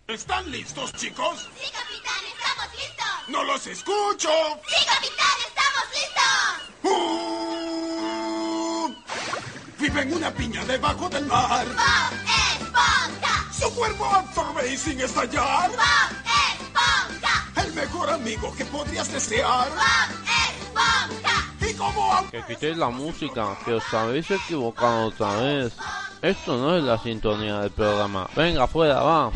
¿Están listos, chicos? ¡Sí, capitán! ¡Estamos listos! ¡No los escucho! ¡Sí, capitán! ¡Estamos listos! Vive en una piña debajo del mar. ¡Bob Esponja! Su cuerpo absorbe sin estallar. ¡Bob Esponja! El mejor amigo que podrías desear. ¡Bob Esponja! Y como... Que quitéis la música, que os habéis equivocado otra vez. Esto no es la sintonía del programa. Venga, fuera, va.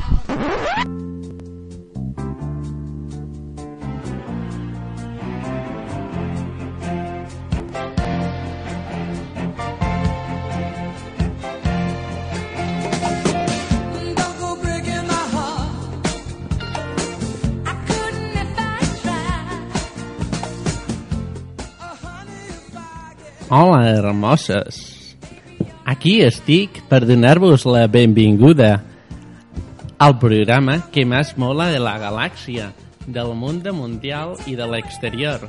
Hola, hermoses. Aquí estic per donar-vos la benvinguda al programa que més mola de la galàxia, del mundo mundial y del exterior,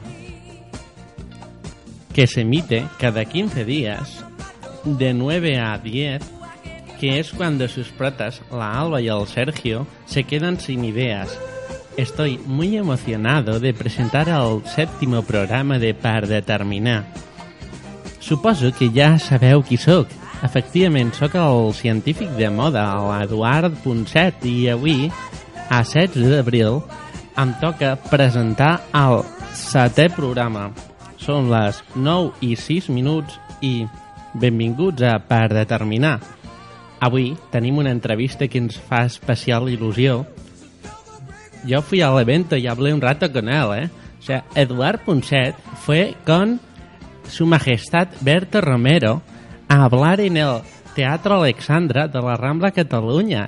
que se emite cada 15 días de 9 a 10, que es cuando sus protas, la Alba y el Sergio, se quedan sin ideas. Estoy muy emocionado de presentar el 7º programa de Per Determinar. Suposo que ja sabeu qui sóc. Efectivament, sóc el científic de moda, l'Eduard Ponset, i avui, a 16 d'abril, em toca presentar el 7è programa. Són les 9:06 i benvinguts a Per Determinar. Avui tenim una entrevista que ens fa especial il·lusió. Yo fui al evento y hablé un rato con él, O sea, Eduard Ponset fue con Su Majestad Berto Romero a hablar en el Teatro Alexandra de la Rambla Cataluña,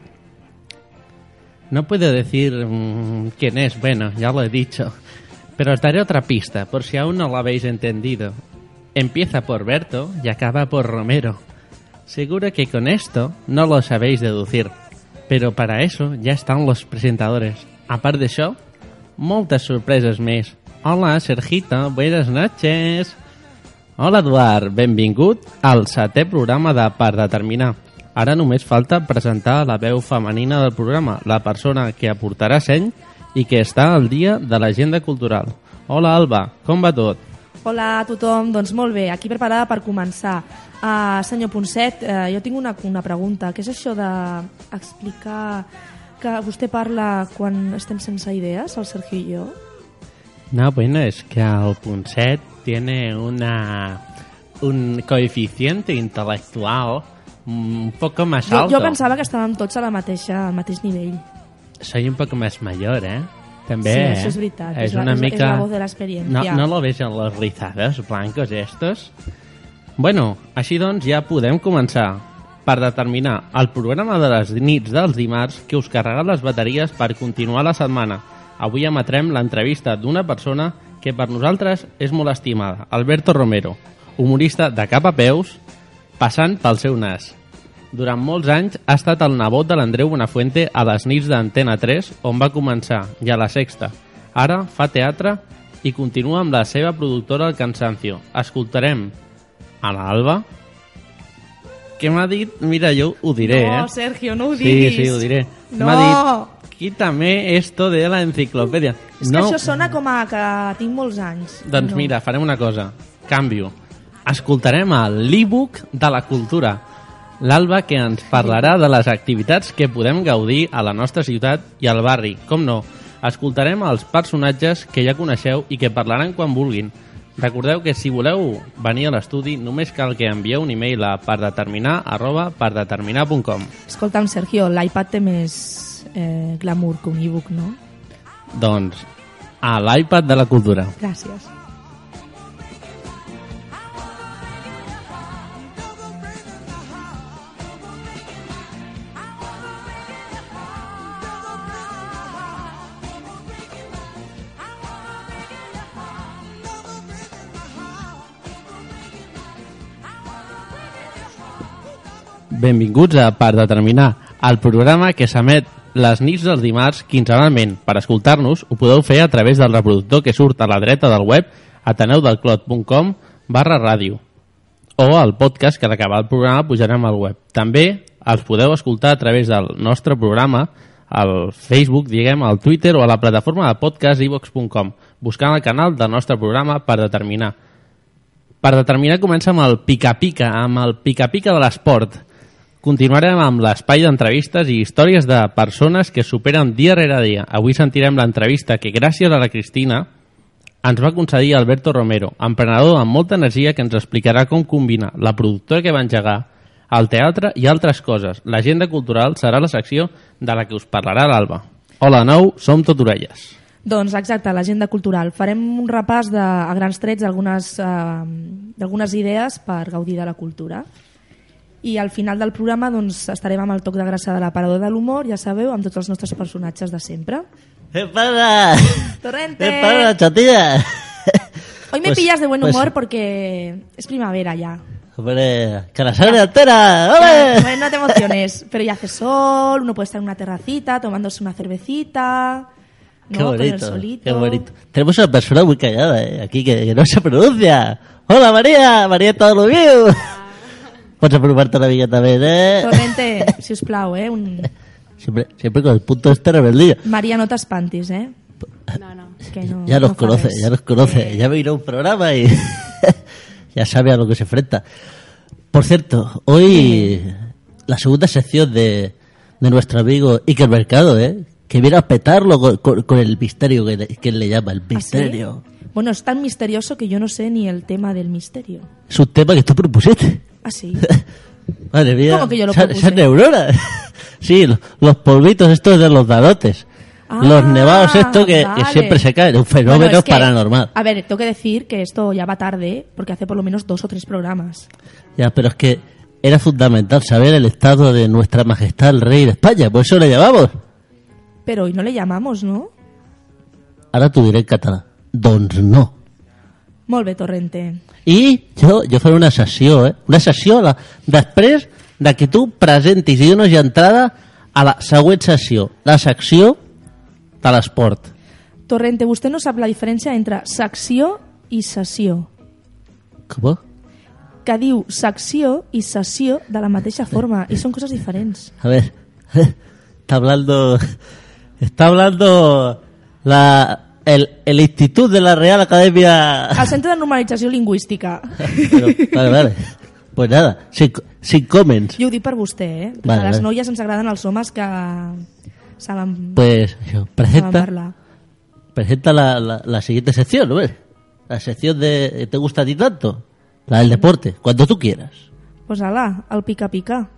No puedo decir quién es, bueno, ya lo he dicho. Pero os daré otra pista, por si aún no lo habéis entendido. Empieza por Berto y acaba por Romero. Seguro que con esto no lo sabéis deducir. Pero para eso ya están los presentadores. A part d'això, moltes sorpreses més. Hola, Sergito, buenas noches. Hola, Eduard, benvingut al 7è programa de Per Determinar. Ara només falta presentar la veu femenina del programa, la persona que aportarà seny i que està al dia de l'agenda cultural. Hola, Alba, com va tot? Hola a tothom, doncs molt bé, aquí preparada per començar. Senyor Ponset, jo tinc una pregunta. Què és això d'explicar que vostè parla quan estem sense idees, el Sergio i jo? No, bueno, es que el Ponset tiene un coeficiente intelectual un poco más alto. Jo pensava que estàvem tots al mateix nivell. Soy un poco más mayor, També, sí, això és veritat. És una mica... És la voz de l'experiència. No lo ves en los rizados blancos estos? Bueno, així doncs ja podem començar. Per Determinar, el programa de les nits dels dimarts que us carrega les bateries per continuar la setmana. Avui emetrem l'entrevista d'una persona que per nosaltres és molt estimada, Alberto Romero, humorista de cap a peus, passant pel seu nas. Durant molts anys ha estat el nebot de l'Andreu Buenafuente a les nits d'Antena 3, on va començar, i a la Sexta. Ara fa teatre i continua amb la seva productora El Cansancio. Escoltarem a l'Alba. Què m'ha dit? Mira, jo ho diré, No, Sergio, no ho diguis. Sí, ho diré. No. M'ha dit, quítame esto de la enciclopèdia. És que això sona com a que tinc molts anys. Doncs mira, farem una cosa. Canvio. Escoltarem l'e-book de la cultura. L'Alba, que ens parlarà de les activitats que podem gaudir a la nostra ciutat i al barri. Com no, escoltarem els personatges que ja coneixeu i que parlaran quan vulguin. Recordeu que si voleu venir a l'estudi només cal que envieu un e-mail a perdeterminar@perdeterminar.com. Escolta'm, Sergio, l'iPad té més glamour que un e-book, no? Doncs a l'iPad de la cultura. Gràcies. Benvinguts a Per Determinar, el programa que s'emet les nits dels dimarts quinzenalment. Per escoltar-nos ho podeu fer a través del reproductor que surt a la dreta del web ateneudelclot.com/ràdio o el podcast que a l'acabar el programa pujarem al web. També els podeu escoltar a través del nostre programa al Facebook, diguem, al Twitter o a la plataforma de podcast iVox.com, buscant el canal del nostre programa per determinar. Per determinar comença amb el pica-pica, de l'esport. Continuarem amb l'espai d'entrevistes i històries de persones que superen dia rere dia. Avui sentirem l'entrevista que, gràcies a la Cristina, ens va concedir Alberto Romero, emprenedor amb molta energia que ens explicarà com combina la productora que va engegar, el teatre i altres coses. L'agenda cultural serà la secció de la que us parlarà l'Alba. Hola de nou, som tot orelles. Doncs exacte, l'agenda cultural. Farem un repàs a grans trets d'algunes idees per gaudir de la cultura. I al final del programa doncs, estarem amb el toc de grassa de l'aparador de l'humor, ja sabeu, amb tots els nostres personatges de sempre. ¿Qué pasa? Torrente. ¿Qué pasa, chatilla? Hoy me pillas de buen humor porque es primavera ya. Hombre, que la sangre altera, ¡ole! Bueno, no te emociones, pero ya hace sol, uno puede estar en una terracita tomándose una cervecita, ¿no? Qué Con el bonito, solito. qué bonito. Tenemos una persona muy callada, aquí que no se pronuncia. Hola, María, María todo lo mío. Pots apropar-te una mica també, Torrente, si us plau, Siempre con el punto este rebeldía. María, no t'espantis, No. Que no, Ya nos no fa conoce, res. ya nos conoce. Ya me irá a un programa y ya sabe a lo que se enfrenta. Por cierto, hoy la segunda sección de nuestro amigo Iker Mercado, que viene a petarlo con el misterio que él le llama, el misterio. ¿Ah, sí? Bueno, es tan misterioso que yo no sé ni el tema del misterio. Es un tema que tú propusiste. ¿Ah, sí? Madre mía, ¿Cómo que yo lo esas propuse? neuronas. Sí, los polvitos estos de los dadotes. Ah, Los nevados estos que vale. siempre se caen. Un fenómeno Bueno, es que, paranormal. A ver, tengo que decir que esto ya va tarde, porque hace por lo menos 2 o 3 programas. Ya, pero es que era fundamental saber el estado de nuestra majestad el rey de España. Por eso le llamamos. Pero hoy no le llamamos, ¿no? Ara t'ho diré en català. Doncs no. Molt bé, Torrente. I jo faré una sessió, Una sessió després de que tu presentis i dones entrada a la següent sessió, la secció de l'esport. Torrente, vostè no sap la diferència entre secció i sessió. Com? Que diu secció i sessió de la mateixa forma, i són coses diferents. A ver, está hablando el Instituto de la Real Academia. El Centre de Normalització Lingüística. Pero, vale. Pues nada, sin comments. Jo ho dic per vostè, Vale, a les vale. noies ens agraden els homes que saben, Pues això, saben parlar. presenta la siguiente sección, ¿no ves? La sección de ¿te gusta a ti tanto? La del deporte, cuando tú quieras. Pues ala, el pica-pica.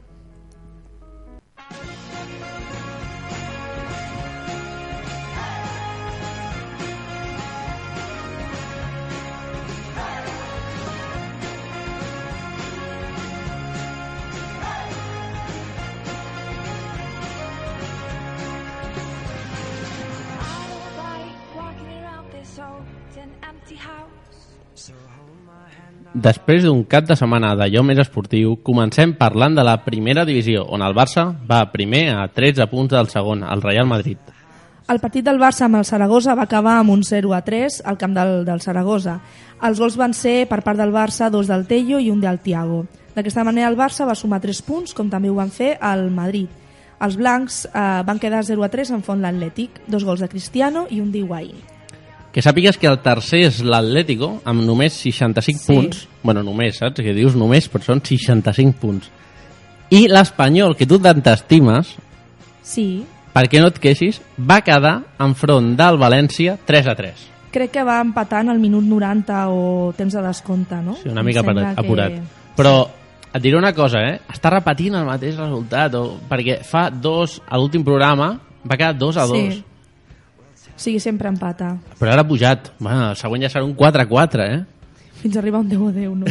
Després d'un cap de setmana d'allò més esportiu, comencem parlant de la primera divisió, on el Barça va primer a 13 punts del segon, el Real Madrid. El partit del Barça amb el Saragossa va acabar amb un 0-3 al camp del Saragossa. Els gols van ser per part del Barça 2 del Tello i un del Thiago. D'aquesta manera el Barça va sumar 3 punts, com també ho van fer al Madrid. Els blancs van quedar 0-3 en font l'Atlètic, 2 gols de Cristiano i un d'Higuaín. Que sàpigues que el tercer és l'Atlético, amb només 65 punts. Bueno, només, saps? Que dius només, però són 65 punts. I l'Espanyol, que tu tant t'estimes, Sí, perquè no et queixis, va quedar enfront del València 3-3. crec que va empatant al minut 90 o temps de descompte, no? Sí, una mica Em sembla apurat. que- Però et diré una cosa, Està repetint el mateix resultat, perquè fa 2, a l'últim programa, va quedar 2-2. Sí. Sí, sempre empata. Però ara ha pujat. Bueno, el següent ja serà un 4-4, Fins a arribar a un 10-10, no?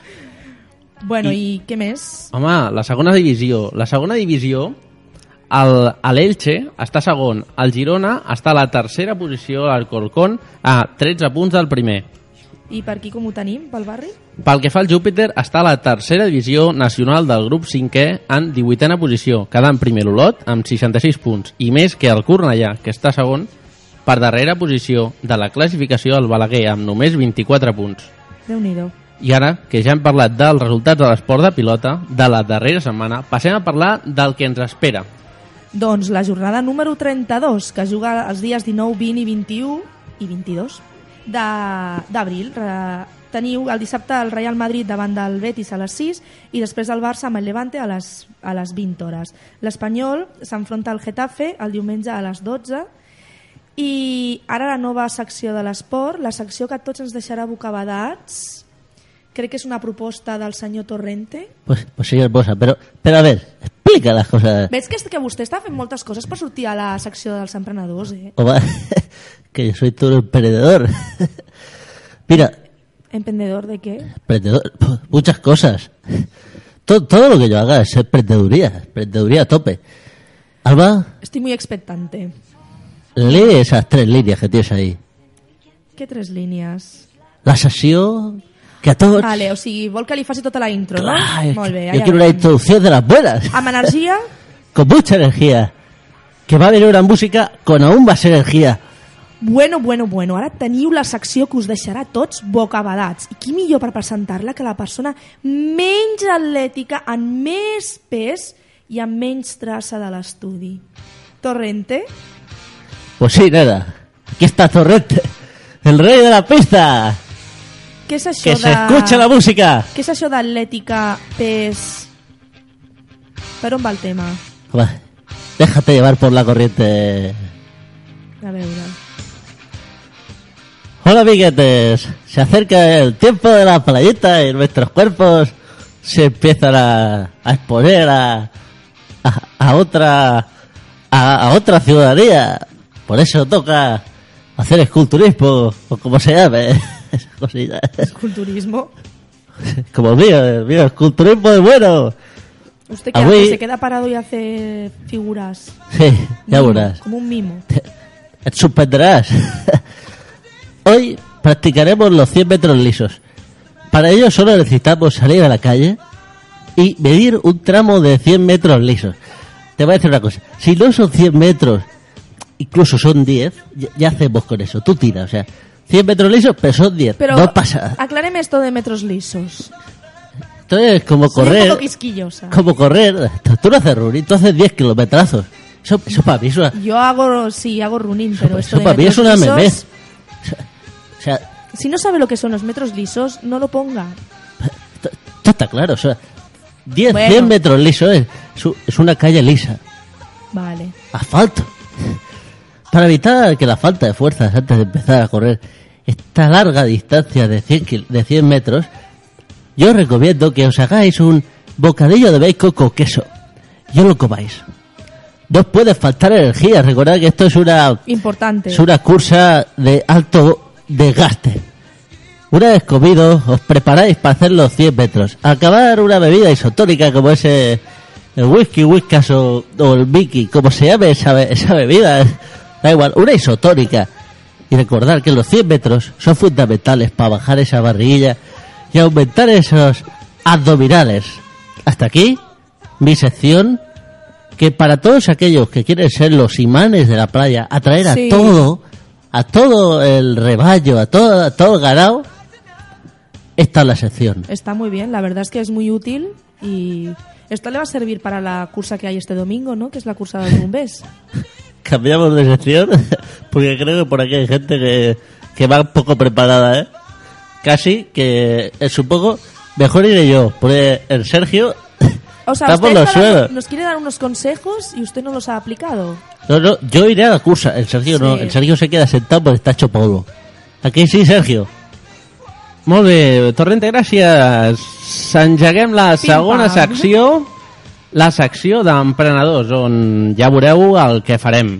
Bueno, i què més? Home, la segona divisió. La segona divisió, l'Elche està segon. El Girona està a la tercera posició, l'Alcorcón, a 13 punts del primer. I per aquí com ho tenim, pel barri? Pel que fa al Júpiter, està a la tercera divisió nacional del grup 5è en 18a posició, quedant primer l'Olot amb 66 punts, i més que el Cornellà, que està segon, per darrera posició de la classificació el Balaguer amb només 24 punts. Déu-n'hi-do. I ara, que ja hem parlat dels resultats de l'esport de pilota de la darrera setmana, passem a parlar del que ens espera. Doncs la jornada número 32, que juga els dies 19, 20 i 21 i 22 d'abril. Teniu el dissabte el Real Madrid davant del Betis a les 6 i després el Barça amb el Levante a les 20 hores. L'Espanyol s'enfronta al Getafe el diumenge a les 12. I ara la nova secció de l'esport, la secció que a tots ens deixarà bocabadats. Crec que és una proposta del senyor Torrente. Pues sí, hermosa, pero a ver, explica las cosas. Veig que vostè està fent moltes coses per sortir a la secció dels emprenedors, eh? Que yo soy todo emprendedor. Mira. ¿Emprendedor de qué? Emprendedor, muchas cosas. Todo lo que yo haga es emprendeduría a tope. Alba. Estoy muy expectante. Lee esas 3 líneas que tienes ahí. ¿Qué 3 línies? La sessió que a tots... Vale, o sigui, vol que li faci tota la intro, no? Molt bé. Yo quiero una introducción de las buenas. Amb energia? Con mucha energía. Que va a venir una música con aún más energía. Bueno. Ara teniu la secció que us deixarà tots bocabadats. I qui millor per presentar-la que la persona menys atlètica, amb més pes i amb menys traça de l'estudi. Torrente? Pues sí, nena. Aquí está Torrente, el rey de la pista. Què és això que se escucha la música. Què és això d'atlètica, pes... Per on va el tema? Déjate llevar por la corriente. A veure... Hola amiguetes, se acerca el tiempo de la playita y nuestros cuerpos se empiezan a exponer a otra ciudadanía. Por eso toca hacer esculturismo, o como se llame. ¿Esculturismo? Como el mío, esculturismo es bueno. ¿Usted qué hace? ¿Se queda parado y hace figuras? Sí, ya verás. Como un mimo. Te suspenderás. Hoy practicaremos los 100 metros lisos. Para ello solo necesitamos salir a la calle y medir un tramo de 100 metros lisos. Te voy a decir una cosa. Si no son 100 metros, incluso son 10, ya hacemos con eso. Tú tiras, o sea, 100 metros lisos, pero son 10. Pero no pasa. Acláreme esto de metros lisos. Entonces, como Soy correr... un poco quisquillosa. Como correr. Tú no haces running, tú haces 10 kilometrazos. Eso para mí es una... Yo hago running, pero eso para mí es una memez. O sea, si no sabe lo que son los metros lisos, no lo ponga. Esto está claro, o sea, 100 metros lisos es una calle lisa. Vale. Asfalto. Para evitar que la falta de fuerzas antes de empezar a correr esta larga distancia de 100 metros, yo os recomiendo que os hagáis un bocadillo de bacon con queso. Y os lo comáis. No os puede faltar energía. Recordad que esto es importante. Es una cursa de alto desgaste. Una vez comido, os preparáis para hacer los 100 metros. Al acabar una bebida isotónica como ese el whisky, whiskas o el Mickey, como se llame esa bebida, da igual, una isotónica. Y recordar que los 100 metros son fundamentales para bajar esa barriguilla y aumentar esos abdominales. Hasta aquí mi sección, que para todos aquellos que quieren ser los imanes de la playa, atraer a todo el rebaño, a todo el ganado, esta es la sección. Está muy bien, la verdad es que es muy útil y esto le va a servir para la cursa que hay este domingo, ¿no? Que es la cursa de Rumbés. Cambiamos de sección porque creo que por aquí hay gente que va un poco preparada, ¿eh? Casi que es un poco... Mejor iré yo, porque el Sergio... O sea, usted nos quiere dar unos consejos y usted no los ha aplicado. No, yo iré a la cursa, el Sergio no, el Sergio se queda sentado porque está hecho polvo. Aquí sí, Sergio. Molt bé, Torrente, gràcies. Engeguem la segona secció, la secció d'emprenedors, on ja veureu el que farem.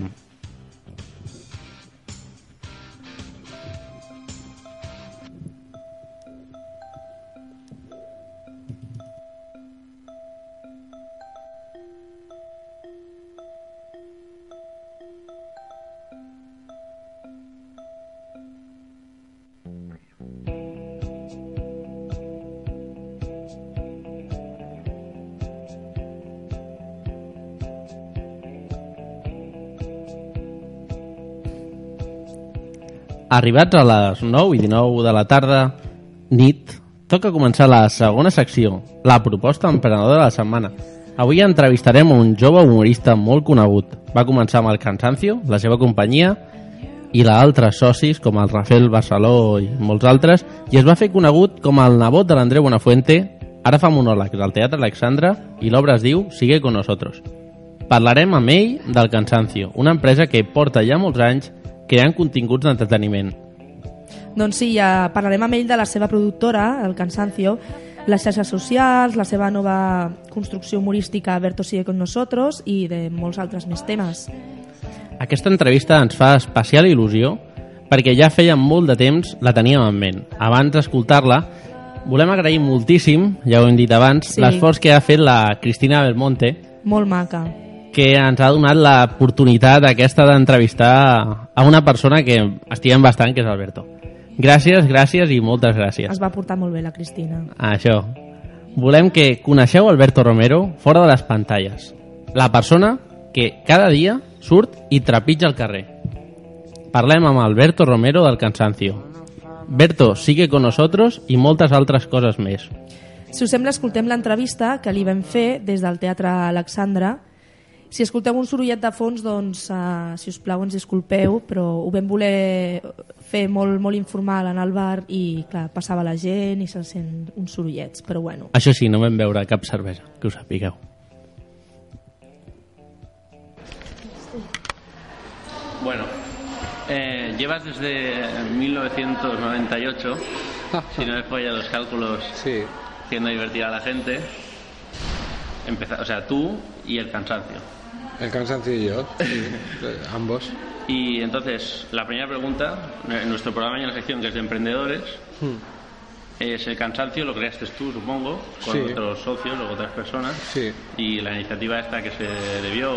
Arribats a les 9 i 19 de la tarda, nit, toca començar la segona secció, la proposta emprenedora de la setmana. Avui entrevistarem un jove humorista molt conegut. Va començar amb el Cansancio, la seva companyia, i l'altres socis, com el Rafael Barceló i molts altres, i es va fer conegut com el nebot de l'Andreu Buenafuente. Ara fa monòlegs al Teatre Alexandra i l'obra es diu Sigue con nosotros. Parlarem amb ell del Cansancio, una empresa que porta ja molts anys creant continguts d'entreteniment. Doncs sí, ja parlarem amb ell de la seva productora, el Cansancio, les xarxes socials, la seva nova construcció humorística Berto Sigue con nosotros i de molts altres més temes. Aquesta entrevista ens fa especial il·lusió perquè ja feia molt de temps la teníem en ment. Abans d'escoltar-la, volem agrair moltíssim, ja ho hem dit abans, Sí. l'esforç que ha fet la Cristina Belmonte, Molt maca. que ens ha donat l'oportunitat aquesta d'entrevistar a una persona que estimem bastant, que és Alberto. Gràcies i moltes gràcies. Es va portar molt bé la Cristina. Això. Volem que coneixeu Alberto Romero fora de les pantalles. La persona que cada dia surt i trepitja el carrer. Parlem amb Alberto Romero del Cansancio. Berto, sigue con nosotros i moltes altres coses més. Si us sembla, escoltem l'entrevista que li vam fer des del Teatre Alexandra. Si escolteu un sorollet de fons, doncs, si us plau, ens disculpeu, però ho vam voler fer molt informal en el bar i, clar, passava la gent i se sent uns sorollets, però bueno. Això sí, no vam veure cap cervesa, que ho sapigueu. Bueno, llevas desde 1998, si no me fallan los cálculos, Sí, haciendo divertir a la gente. O sea, tú y el Cansancio. el cansancio y yo, sí, ambos. Y entonces, la primera pregunta, en nuestro programa hay una sección que es de emprendedores. Es el Cansancio, lo creaste tú, supongo, con Sí. otros socios o otras personas. Sí. Y la iniciativa esta que se debió...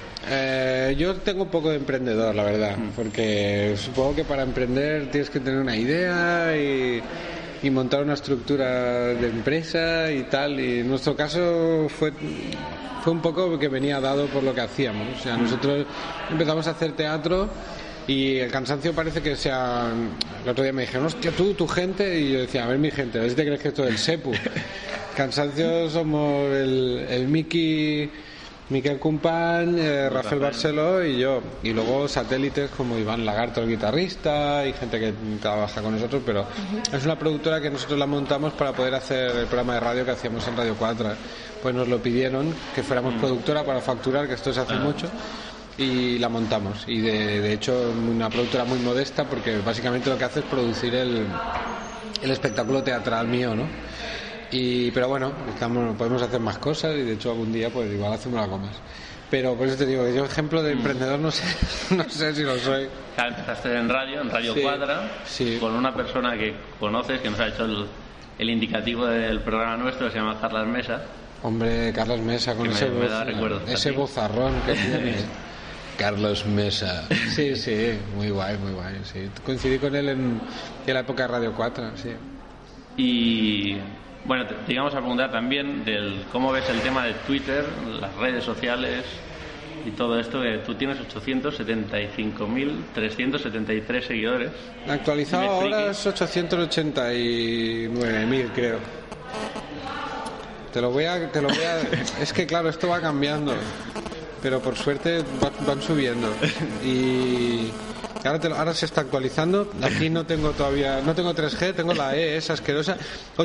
Yo tengo un poco de emprendedor, la verdad, porque supongo que para emprender tienes que tener una idea y montar una estructura de empresa y tal. Y en nuestro caso fue un poco que venía dado por lo que hacíamos. O sea, nosotros empezamos a hacer teatro y el Cansancio parece que sea... El otro día me dijeron, hostia, tú, tu gente, y yo decía, a ver mi gente, a ver si te crees que esto es el SEPU. Cansancio somos el Miquel Cumpany, Rafael Barceló y yo. Y luego satélites como Iván Lagarto, el guitarrista, y gente que trabaja con nosotros, pero es una productora que nosotros la montamos para poder hacer el programa de radio que hacíamos en Radio 4. Pues nos lo pidieron, que fuéramos productora para facturar, que esto se hace mucho, y la montamos. Y de hecho una productora muy modesta, porque básicamente lo que hace es producir el espectáculo teatral mío, ¿no? Pero bueno, podemos hacer más cosas y de hecho algún día pues igual hacemos algo más. Pero por eso te digo que yo ejemplo de emprendedor no sé si lo soy. Claro, empezaste en Radio Sí, Cuadra, sí. con una persona que conoces, que nos ha hecho el indicativo del programa nuestro, que se llama Carlas Mesa. Hombre, Carlos Mesa, con Que me da recuerdos a ese ti. vozarrón que tiene. Carlos Mesa. Sí, muy guay, sí. Coincidí con él en la época de Radio 4, sí. Y bueno, te íbamos a preguntar también del cómo ves el tema de Twitter, las redes sociales y todo esto, que tú tienes 875.373 seguidores. Actualizado Dime, ahora friki. es 889.000, creo. Te lo voy a... Es que claro, esto va cambiando. Pero por suerte van subiendo. Y ahora se está actualizando. Aquí no tengo 3G, tengo la E, esa asquerosa.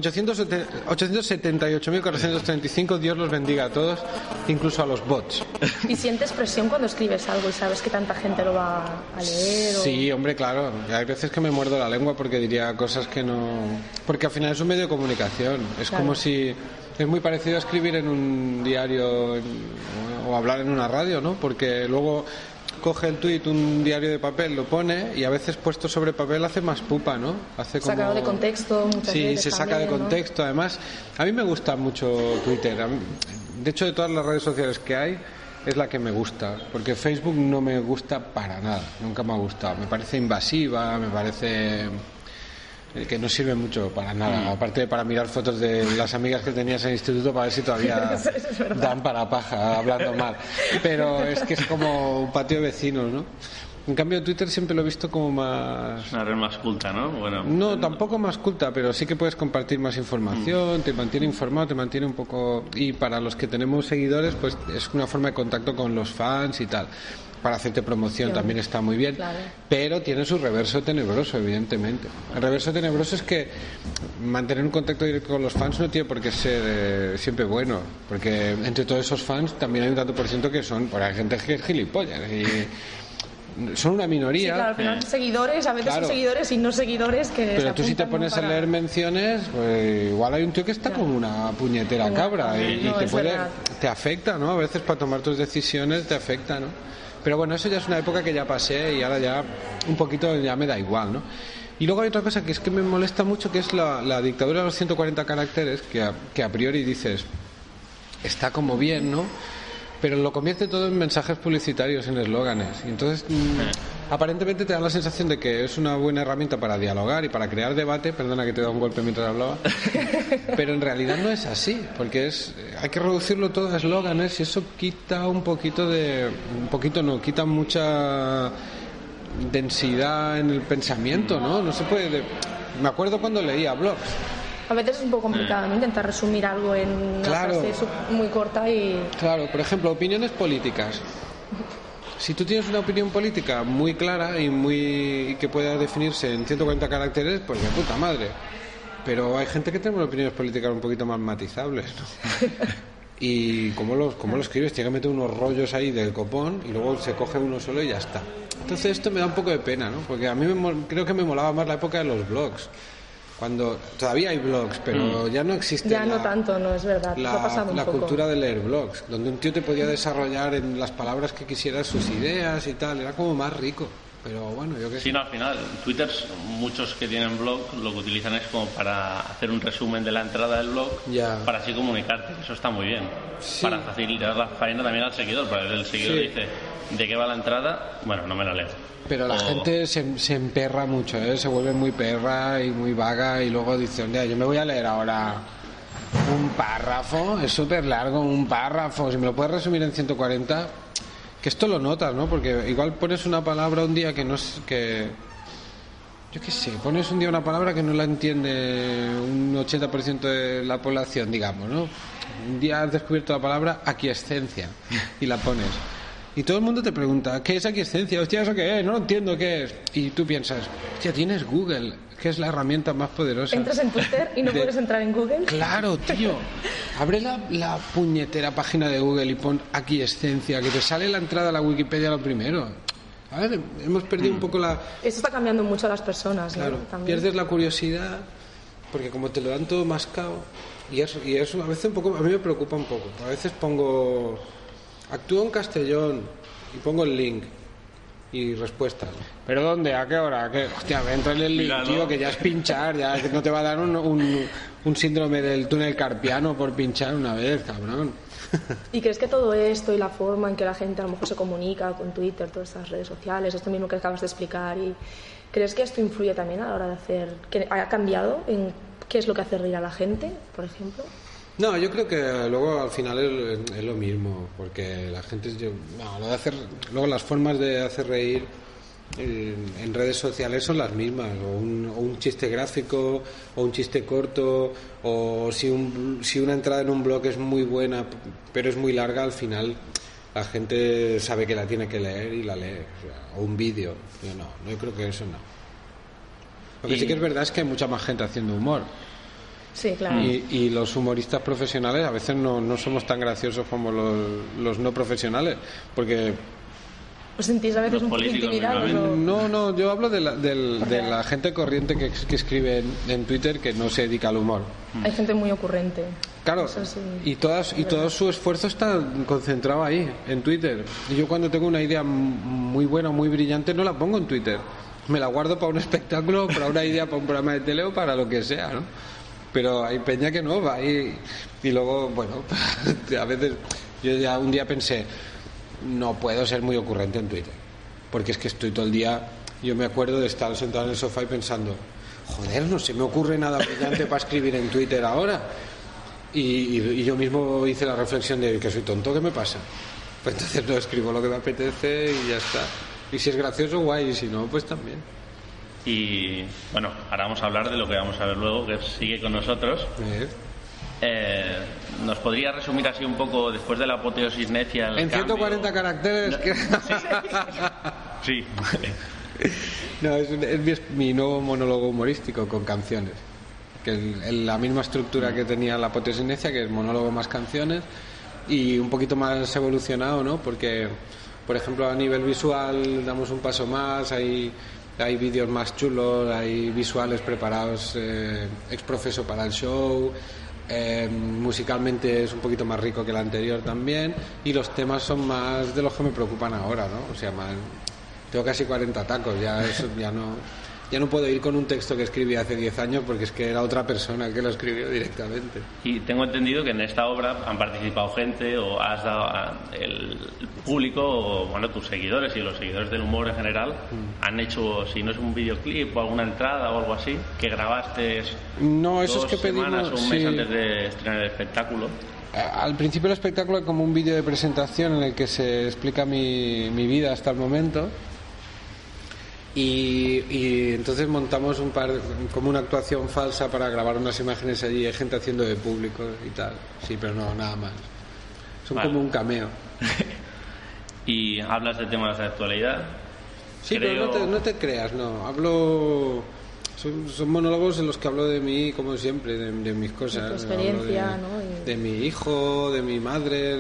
878.435, Dios los bendiga a todos, incluso a los bots. ¿Y sientes presión cuando escribes algo y sabes que tanta gente lo va a leer? Sí, hombre, claro. Hay veces que me muerdo la lengua porque diría cosas que no... Porque al final es un medio de comunicación. Es Claro. como si... Es muy parecido a escribir en un diario o hablar en una radio, ¿no? Porque luego coge el tuit un diario de papel, lo pone y a veces puesto sobre papel hace más pupa, ¿no? Hace como... Sacado de contexto muchas Sí, veces se saca de también, ¿no? contexto. Además, a mí me gusta mucho Twitter. De hecho, de todas las redes sociales que hay, es la que me gusta. Porque Facebook no me gusta para nada. Nunca me ha gustado. Me parece invasiva, me parece... que no sirve mucho para nada, aparte de para mirar fotos de las amigas que tenías en el instituto para ver si todavía dan para paja hablando mal, pero es que es como un patio de vecinos, ¿no? En cambio Twitter siempre lo he visto como más... Una red más culta, ¿no? Bueno, No, tampoco más culta, pero sí que puedes compartir más información, te mantiene informado, te mantiene un poco... Y para los que tenemos seguidores, pues es una forma de contacto con los fans y tal. Para hacerte promoción también está muy bien, claro. Pero tiene su reverso tenebroso, evidentemente. El reverso tenebroso es que mantener un contacto directo con los fans no tiene por qué ser siempre bueno, porque entre todos esos fans también hay un tanto por ciento que son, pues hay gente que es gilipollas y son una minoría. Sí, claro, al final seguidores, a veces Claro. son seguidores y no seguidores que... Pero se tú si te apuntan, pones ¿no? a leer menciones, pues igual hay un tío que está como una puñetera Venga, cabra y no, te es puede, verdad. te afecta, ¿no? A veces para tomar tus decisiones te afecta, ¿no? Pero bueno, eso ya es una época que ya pasé y ahora ya un poquito ya me da igual, ¿no? Y luego hay otra cosa que es que me molesta mucho, que es la dictadura de los 140 caracteres, que a priori dices, está como bien, ¿no? Pero lo convierte todo en mensajes publicitarios, en eslóganes. Y entonces, aparentemente te da la sensación de que es una buena herramienta para dialogar y para crear debate. Perdona que te da un golpe mientras hablaba. Pero en realidad no es así, porque hay que reducirlo todo a eslóganes y eso quita quita mucha densidad en el pensamiento, ¿no? No se puede... Me acuerdo cuando leía blogs. A veces es un poco complicado, ¿no? Intentar resumir algo en una Claro. frase muy corta y... Claro, por ejemplo, opiniones políticas. Si tú tienes una opinión política muy clara y que pueda definirse en 140 caracteres, pues de puta madre. Pero hay gente que tenemos opiniones políticas un poquito más matizables, ¿no? Y ¿cómo lo escribes? Tiene que meter unos rollos ahí del copón y luego se coge uno solo y ya está. Entonces esto me da un poco de pena, ¿no? Porque a mí creo que me molaba más la época de los blogs. Cuando todavía hay blogs, pero ya no existe Ya no tanto, no es verdad. Eso ha pasado un la poco. cultura de leer blogs, donde un tío te podía desarrollar en las palabras que quisieras sus ideas y tal, era como más rico. Pero bueno, yo qué sé. Sí, no, al final, Twitter, muchos que tienen blog, lo que utilizan es como para hacer un resumen de la entrada del blog, Ya. para así comunicarte. Eso está muy bien. Sí. Para facilitar la faena también al seguidor, para que el seguidor Sí. dice, ¿de qué va la entrada? Bueno, no me la leo. Pero la O- gente se emperra mucho, ¿eh? Se vuelve muy perra y muy vaga y luego dice, "Mira, yo me voy a leer ahora un párrafo, es súper largo, un párrafo, si me lo puedes resumir en 140, que esto lo notas, ¿no? Porque igual pones una palabra un día que no es que... Yo qué sé, pones un día una palabra que no la entiende un 80% de la población, digamos, ¿no? Un día has descubierto la palabra aquiescencia y la pones. Y todo el mundo te pregunta, ¿qué es aquiescencia? Hostia, ¿eso qué es? No lo entiendo qué es. Y tú piensas, hostia, tienes Google, que es la herramienta más poderosa. Entras en Twitter y no De- puedes entrar en Google. Claro, tío. Abre la puñetera página de Google y pon aquiescencia, que te sale la entrada a la Wikipedia lo primero. A ver, hemos perdido un poco la... Eso está cambiando mucho a las personas, ¿no? Claro, También. pierdes la curiosidad, porque como te lo dan todo mascado, y eso a veces a mí me preocupa un poco. A veces pongo, actúo en Castellón, y pongo el link, y respuestas. ¿Pero dónde? ¿A qué hora? ¿A qué? Hostia, entra en el link, Mira, ¿no? tío, que ya es pinchar, ya que no te va a dar un síndrome del túnel carpiano por pinchar una vez, cabrón. ¿Y crees que todo esto y la forma en que la gente a lo mejor se comunica con Twitter, todas estas redes sociales, esto mismo que acabas de explicar, y crees que esto influye también a la hora de hacer, que ha cambiado en qué es lo que hace reír a la gente, por ejemplo? No, yo creo que luego al final es lo mismo, porque la gente... luego las formas de hacer reír en redes sociales son las mismas, o un chiste gráfico, o un chiste corto, o si una entrada en un blog es muy buena, pero es muy larga, al final la gente sabe que la tiene que leer y la lee, o un vídeo. Yo creo que eso no. Lo que sí que es verdad es que hay mucha más gente haciendo humor. Sí, claro. Y los humoristas profesionales a veces no somos tan graciosos como los no profesionales, porque ¿Os sentís a veces Los un poco políticos, intimidados? o- no, yo hablo de la gente corriente que escribe en Twitter, que no se dedica al humor. Hay gente muy ocurrente. Claro, Eso sí. y todo su esfuerzo está concentrado ahí, en Twitter. Y yo cuando tengo una idea muy buena, muy brillante, no la pongo en Twitter. Me la guardo para un espectáculo, para una idea, para un programa de tele o para lo que sea, ¿no? Pero hay peña que no, va ahí. Y luego, bueno, a veces yo ya un día pensé, no puedo ser muy ocurrente en Twitter. Porque es que estoy todo el día, yo me acuerdo de estar sentado en el sofá y pensando, joder, no se me ocurre nada brillante para escribir en Twitter ahora. Y yo mismo hice la reflexión de que soy tonto, ¿qué me pasa? Pues entonces no escribo lo que me apetece y ya está. Y si es gracioso, guay, y si no, pues también. Y bueno, ahora vamos a hablar de lo que vamos a ver luego, que sigue con nosotros. ¿Nos podría resumir así un poco, después de la apoteosis necia, el en 140 cambio? caracteres. Sí. No, es mi nuevo monólogo humorístico con canciones. Que la misma estructura que tenía la apoteosis necia, que es monólogo más canciones, y un poquito más evolucionado, ¿no? Porque, por ejemplo, a nivel visual damos un paso más, hay vídeos más chulos, hay visuales preparados ex profeso para el show, musicalmente es un poquito más rico que el anterior también, y los temas son más de los que me preocupan ahora, ¿no? O sea, tengo casi 40 tacos, ya no puedo ir con un texto que escribí hace 10 años porque es que era otra persona que lo escribió directamente. Y tengo entendido que en esta obra han participado gente, o has dado el público, o bueno, tus seguidores y los seguidores del humor en general, han hecho, si no es un videoclip o alguna entrada o algo así, que grabaste no, eso 2 es que semanas pedimos, o un mes sí. antes de estrenar el espectáculo. Al principio el espectáculo es como un vídeo de presentación en el que se explica mi vida hasta el momento. Y entonces montamos como una actuación falsa para grabar unas imágenes allí, hay gente haciendo de público y tal. Sí, pero no, nada más. Son como un cameo. Y hablas de temas de actualidad. Sí, pero no te creas, no. Hablo... Son monólogos en los que hablo de mí, como siempre, de mis cosas. De tu experiencia, ¿no? De mi hijo, de mi madre,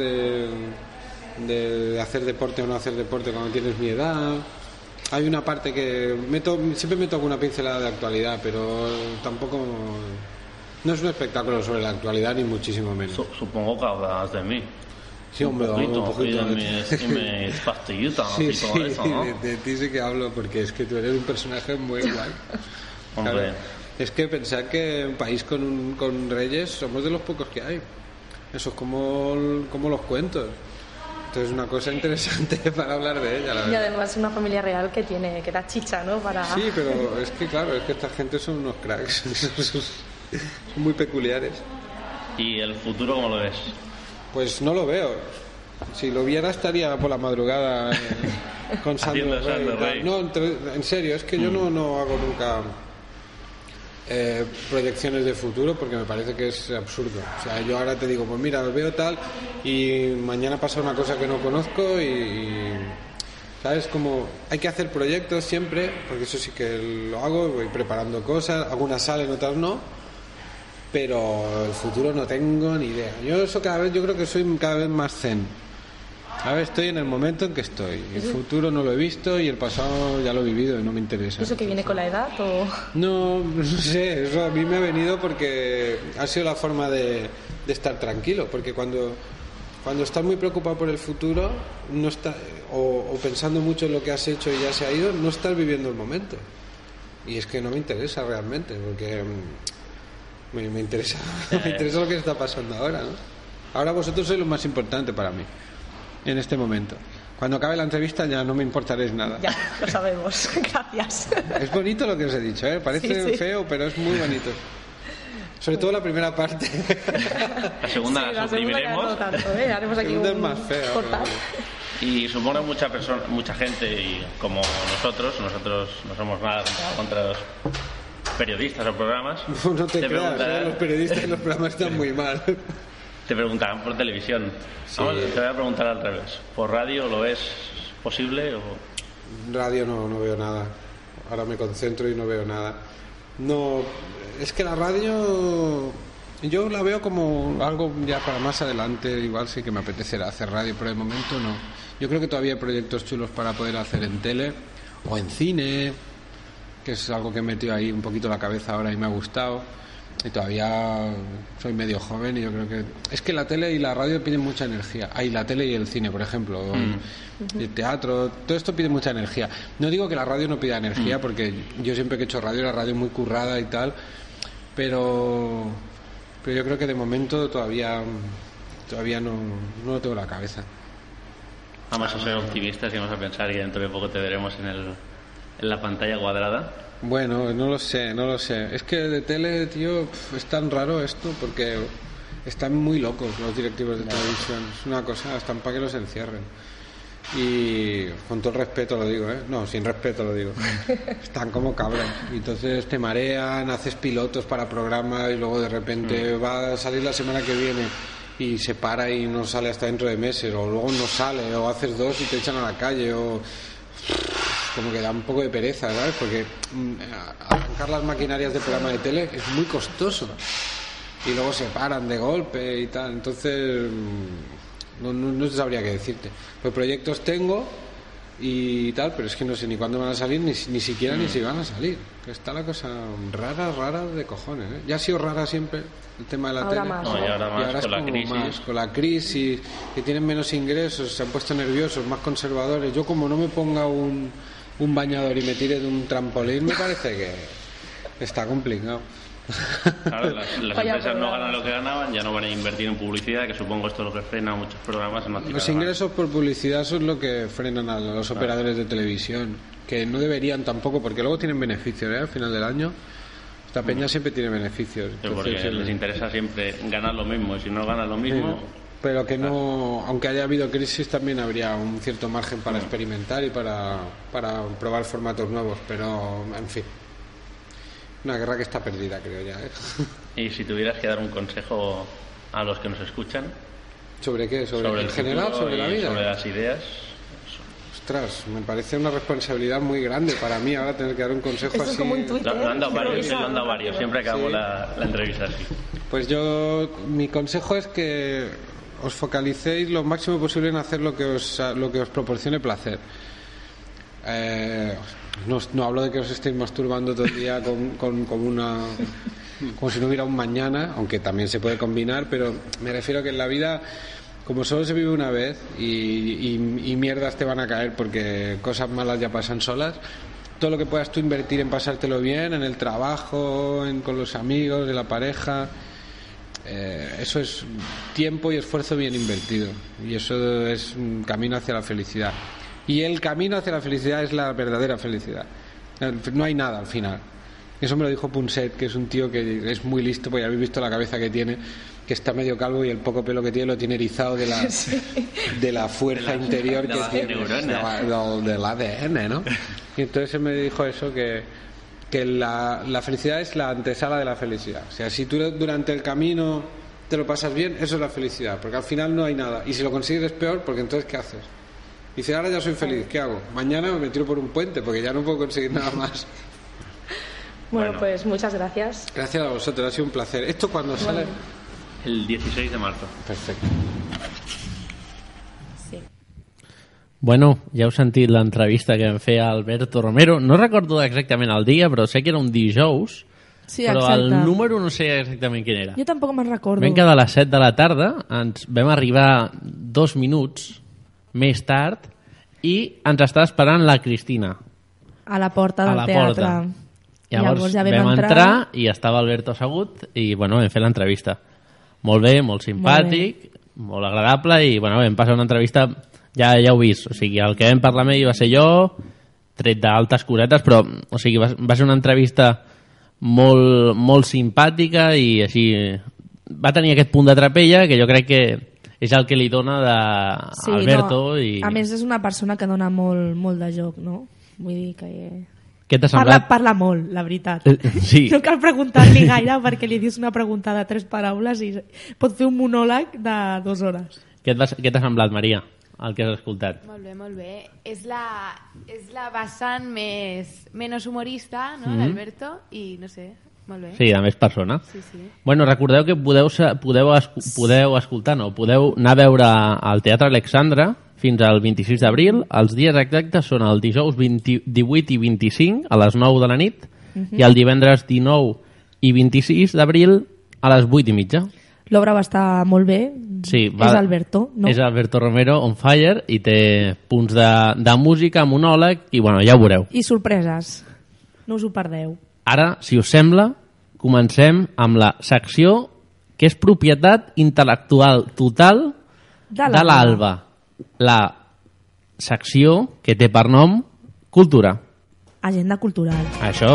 de hacer deporte o no hacer deporte cuando tienes mi edad. Hay una parte que siempre meto alguna pincelada de actualidad, pero tampoco... No es un espectáculo sobre la actualidad, ni muchísimo menos. Supongo que hablas de mí. Sí, hombre, un poquito. Y mis pastillitas sí, y todo eso, ¿no? de ti sí que hablo, porque es que tú eres un personaje muy guay. Hombre. Claro, es que pensar que un país con reyes somos de los pocos que hay. Eso es como los cuentos. Entonces es una cosa interesante para hablar de ella, la verdad. Y además una familia real que da chicha, ¿no? Sí, pero es que claro, es que esta gente son unos cracks. Son muy peculiares. ¿Y el futuro cómo lo ves? Pues no lo veo. Si lo viera estaría por la madrugada con Sandro Rey. No, en serio, es que yo no hago nunca proyecciones de futuro porque me parece que es absurdo. O sea, yo ahora te digo, pues mira, veo tal y mañana pasa una cosa que no conozco y ¿sabes? Como hay que hacer proyectos siempre, porque eso sí que lo hago, voy preparando cosas, algunas salen, otras no, pero el futuro no tengo ni idea. Yo creo que soy cada vez más zen. A ver, estoy en el momento en que estoy. El futuro no lo he visto y el pasado ya lo he vivido y no me interesa. ¿Eso que viene con la edad o...? No sé, eso a mí me ha venido porque ha sido la forma de estar tranquilo, porque cuando estás muy preocupado por el futuro no está, o pensando mucho en lo que has hecho y ya se ha ido, no estás viviendo el momento. Y es que no me interesa realmente, porque me interesa lo que está pasando ahora, ¿no? Ahora vosotros sois lo más importante para mí en este momento. Cuando acabe la entrevista ya no me importaréis nada. Ya, lo sabemos. Gracias. Es bonito lo que os he dicho, ¿eh? Parece feo, pero es muy bonito. Sobre todo la primera parte. La segunda la suprimiremos. No tanto, ¿eh? Haremos aquí es más feo. Cortar. Y supongo mucha gente, y como nosotros no somos nada contra los periodistas o programas. No te creas, los periodistas en los programas están muy mal. Te preguntarán por televisión. Sí. Vamos, te voy a preguntar al revés. ¿Por radio lo ves posible? O... Radio no veo nada. Ahora me concentro y no veo nada. No, es que la radio yo la veo como algo ya para más adelante. Igual sí que me apetecerá hacer radio, pero de momento no. Yo creo que todavía hay proyectos chulos para poder hacer en tele o en cine, que es algo que he metido ahí un poquito la cabeza ahora y me ha gustado. Y todavía soy medio joven y yo creo que... Es que la tele y la radio piden mucha energía. La tele y el cine, por ejemplo. El teatro, todo esto pide mucha energía. No digo que la radio no pida energía, porque yo siempre que he hecho radio, la radio muy currada y tal. Pero yo creo que de momento todavía no tengo la cabeza. Vamos a ser optimistas y vamos a pensar que dentro de poco te veremos en la pantalla cuadrada. Bueno, no lo sé. Es que de tele, tío, es tan raro esto porque están muy locos los directivos de televisión. Es una cosa, están para que los encierren. Y con todo el respeto lo digo, no, sin respeto lo digo, están como cabras, y entonces te marean, haces pilotos para programas y luego de repente va a salir la semana que viene y se para y no sale hasta dentro de meses, o luego no sale, o haces 2 y te echan a la calle, o como que da un poco de pereza, ¿sabes? Porque arrancar las maquinarias de programa de tele es muy costoso y luego se paran de golpe y tal, entonces no sabría qué decirte. Pues proyectos tengo y tal, pero es que no sé ni cuándo van a salir, ni siquiera ni si van a salir. Está la cosa rara de cojones, ¿eh? Ya ha sido rara siempre el tema de la tele. No, y ahora más con la crisis. Con la crisis, que tienen menos ingresos, se han puesto nerviosos, más conservadores. Yo como no me ponga un bañador y me tire de un trampolín, me parece que está complicado. Claro, las empresas no ganan lo que ganaban, ya no van a invertir en publicidad, que supongo esto es lo que frena a muchos programas. Los ingresos por publicidad son lo que frenan a los operadores de televisión, que no deberían tampoco, porque luego tienen beneficios, al final del año. Esta peña siempre tiene beneficios. Porque les interesa siempre ganar lo mismo, y si no ganan lo mismo... Pero que no, aunque haya habido crisis, también habría un cierto margen para experimentar y para probar formatos nuevos, pero en fin. Una guerra que está perdida, creo ya, ¿eh? Y si tuvieras que dar un consejo a los que nos escuchan... ¿Sobre qué? ¿Sobre el general? ¿Sobre la vida? Sobre las ideas. Ostras, me parece una responsabilidad muy grande para mí ahora tener que dar un consejo Esto así. es como un Twitter. Lo han dado varios, siempre acabo la entrevista así. Pues mi consejo es que os focalicéis lo máximo posible en hacer lo que os proporcione placer. No hablo de que os estéis masturbando todo el día como si no hubiera un mañana, aunque también se puede combinar, pero me refiero a que en la vida, como solo se vive una vez y mierdas te van a caer porque cosas malas ya pasan solas, todo lo que puedas tú invertir en pasártelo bien, en el trabajo, con los amigos, en la pareja, eso es tiempo y esfuerzo bien invertido, y eso es un camino hacia la felicidad. Y el camino hacia la felicidad es la verdadera felicidad. No hay nada al final. Eso me lo dijo Punset, que es un tío que es muy listo, porque ya habéis visto la cabeza que tiene, que está medio calvo y el poco pelo que tiene lo tiene erizado de la fuerza interior que tiene, del ADN, ¿no? Y entonces él me dijo eso, que la felicidad es la antesala de la felicidad. O sea, si tú durante el camino te lo pasas bien, eso es la felicidad, porque al final no hay nada. Y si lo consigues es peor, porque entonces ¿qué haces? Dice, ahora ya soy feliz, ¿qué hago? Mañana me tiro por un puente, porque ya no puedo conseguir nada más. Bueno, pues muchas gracias. Gracias a vosotros, ha sido un placer. ¿Esto cuándo sale? El 16 de marzo. Perfecto. Sí. Bueno, ja heu sentit l'entrevista que vam fer a Alberto Romero. No recordo exactament el dia, però sé que era un dijous. Sí, però exacte. el número no sé exactament quin era. Jo tampoc me'n recordo. Vam quedar a les 7 de la tarda, ens vam arribar 2 minuts més tard i ens està esperant la Cristina. A la porta del a la teatre. Porta. Llavors ja vam entrar i estava Alberto assegut i bueno, vam fer l'entrevista. Molt bé, molt simpàtic, molt agradable i bueno, vam passar una entrevista, ja heu vist, o sigui, el que vam parlar amb ell va ser jo, tret d'altes cosetes, però o sigui, va ser una entrevista molt simpàtica i així va tenir aquest punt de trapella que jo crec que és el que li dona d'Alberto. Sí, no. A més és una persona que dona molt de joc, no? Vull dir que... Què t'ha semblat? Parla molt, la veritat. Sí. No cal preguntar-li gaire perquè li dius una pregunta de 3 paraules i pot fer un monòleg de 2 hores. Què t'ha semblat, Maria, el que has escoltat? Molt bé, molt bé. És la vessant menys humorista, no, d'Alberto, i no sé, molt bé. Sí, a més persona. Sí, sí. Bueno, recordeu que podeu escoltar, no, podeu anar a veure al Teatre Alexandra fins al 26 d'abril. Els dies exactes són el dijous 18 i 25 a les 9 de la nit i el divendres 19 i 26 d'abril a les 8 i mitja. L'obra va estar molt bé. Sí, és Alberto, no? És Alberto Romero on fire i té punts de música, monòleg i bueno, ja ho veureu. I sorpreses. No us ho perdeu. Ara, si us sembla, comencem amb la secció que és propietat intel·lectual total de l'Alba. La secció que té per nom Cultura. Agenda cultural. Això.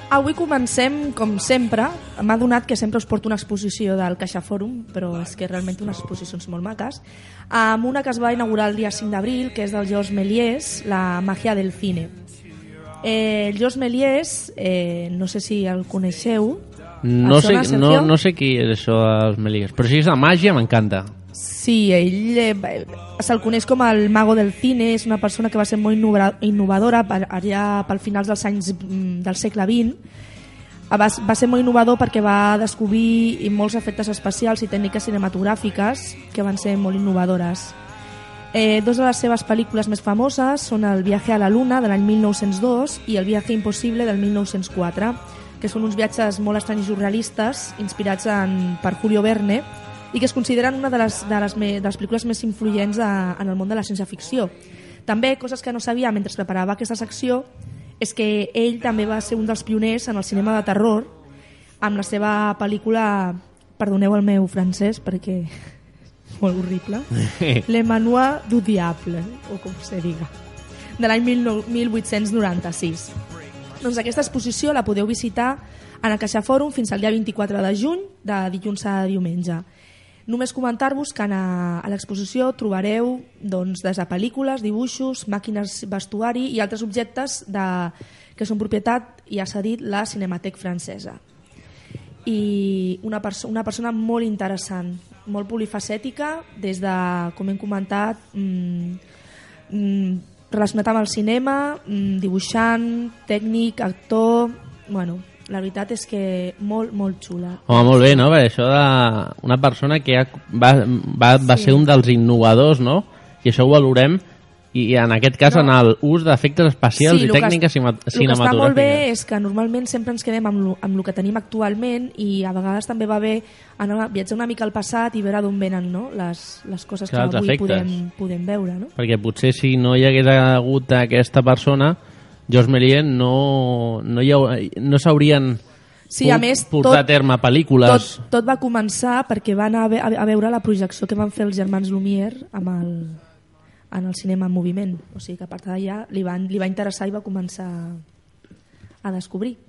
Avui comencem, com sempre, m'ha donat que sempre us porto una exposició del CaixaForum, però és que realment unes exposicions molt maques, amb una que es va inaugurar el dia 5 d'abril, que és del Georges Méliès, La màgia del cine. El Georges Méliès, no sé si el coneixeu. No sé qui és això dels Méliès, però si és de màgia m'encanta. Sí, ell se'l coneix com el mago del cine, és una persona que va ser molt innovadora allà pel finals dels anys del segle XX. Va ser molt innovador perquè va descobrir molts efectes especials i tècniques cinematogràfiques que van ser molt innovadores. Dos de les seves pel·lícules més famoses són El viaje a la luna, de l'any 1902, i El viaje imposible, del 1904, que són uns viatges molt estranys i surrealistes inspirats per Julio Verne, i que es consideren una de les pel·lícules més influents en el món de la ciència-ficció. També, coses que no sabia mentre preparava aquesta secció, és que ell també va ser un dels pioners en el cinema de terror amb la seva pel·lícula, perdoneu el meu francès perquè és molt horrible, Le Manoir du Diable, o com se diga, de l'any 1896. Doncs aquesta exposició la podeu visitar en el CaixaForum fins al dia 24 de juny, de dilluns a diumenge. Només comentar-vos que a l'exposició trobareu des de pel·lícules, dibuixos, màquines vestuari i altres objectes que són propietat i ha cedit la Cinémathèque francesa. I una persona molt interessant, molt polifacètica, des de, com hem comentat, relacionat amb el cinema, dibuixant, tècnic, actor... Bueno, la veritat és que molt, molt xula. Home, molt bé, no? Perquè això d'una persona que va ser un dels innovadors, no? I això ho valorem, i en aquest cas en l'ús d'efectes especials i tècniques cinematogràfiques. El que està molt bé és que normalment sempre ens quedem amb el que tenim actualment, i a vegades també va bé viatjar una mica al passat i veure d'on venen, no? Les coses que avui podem veure, no? Perquè potser si no hi hagués hagut aquesta persona, Georges Méliès no s'haurien portat a terme pel·lícules. Tot va començar perquè van a veure la projecció que van fer els germans Lumière en el cinema en moviment. O sigui que a partir d'allà li va interessar i va començar a descobrir.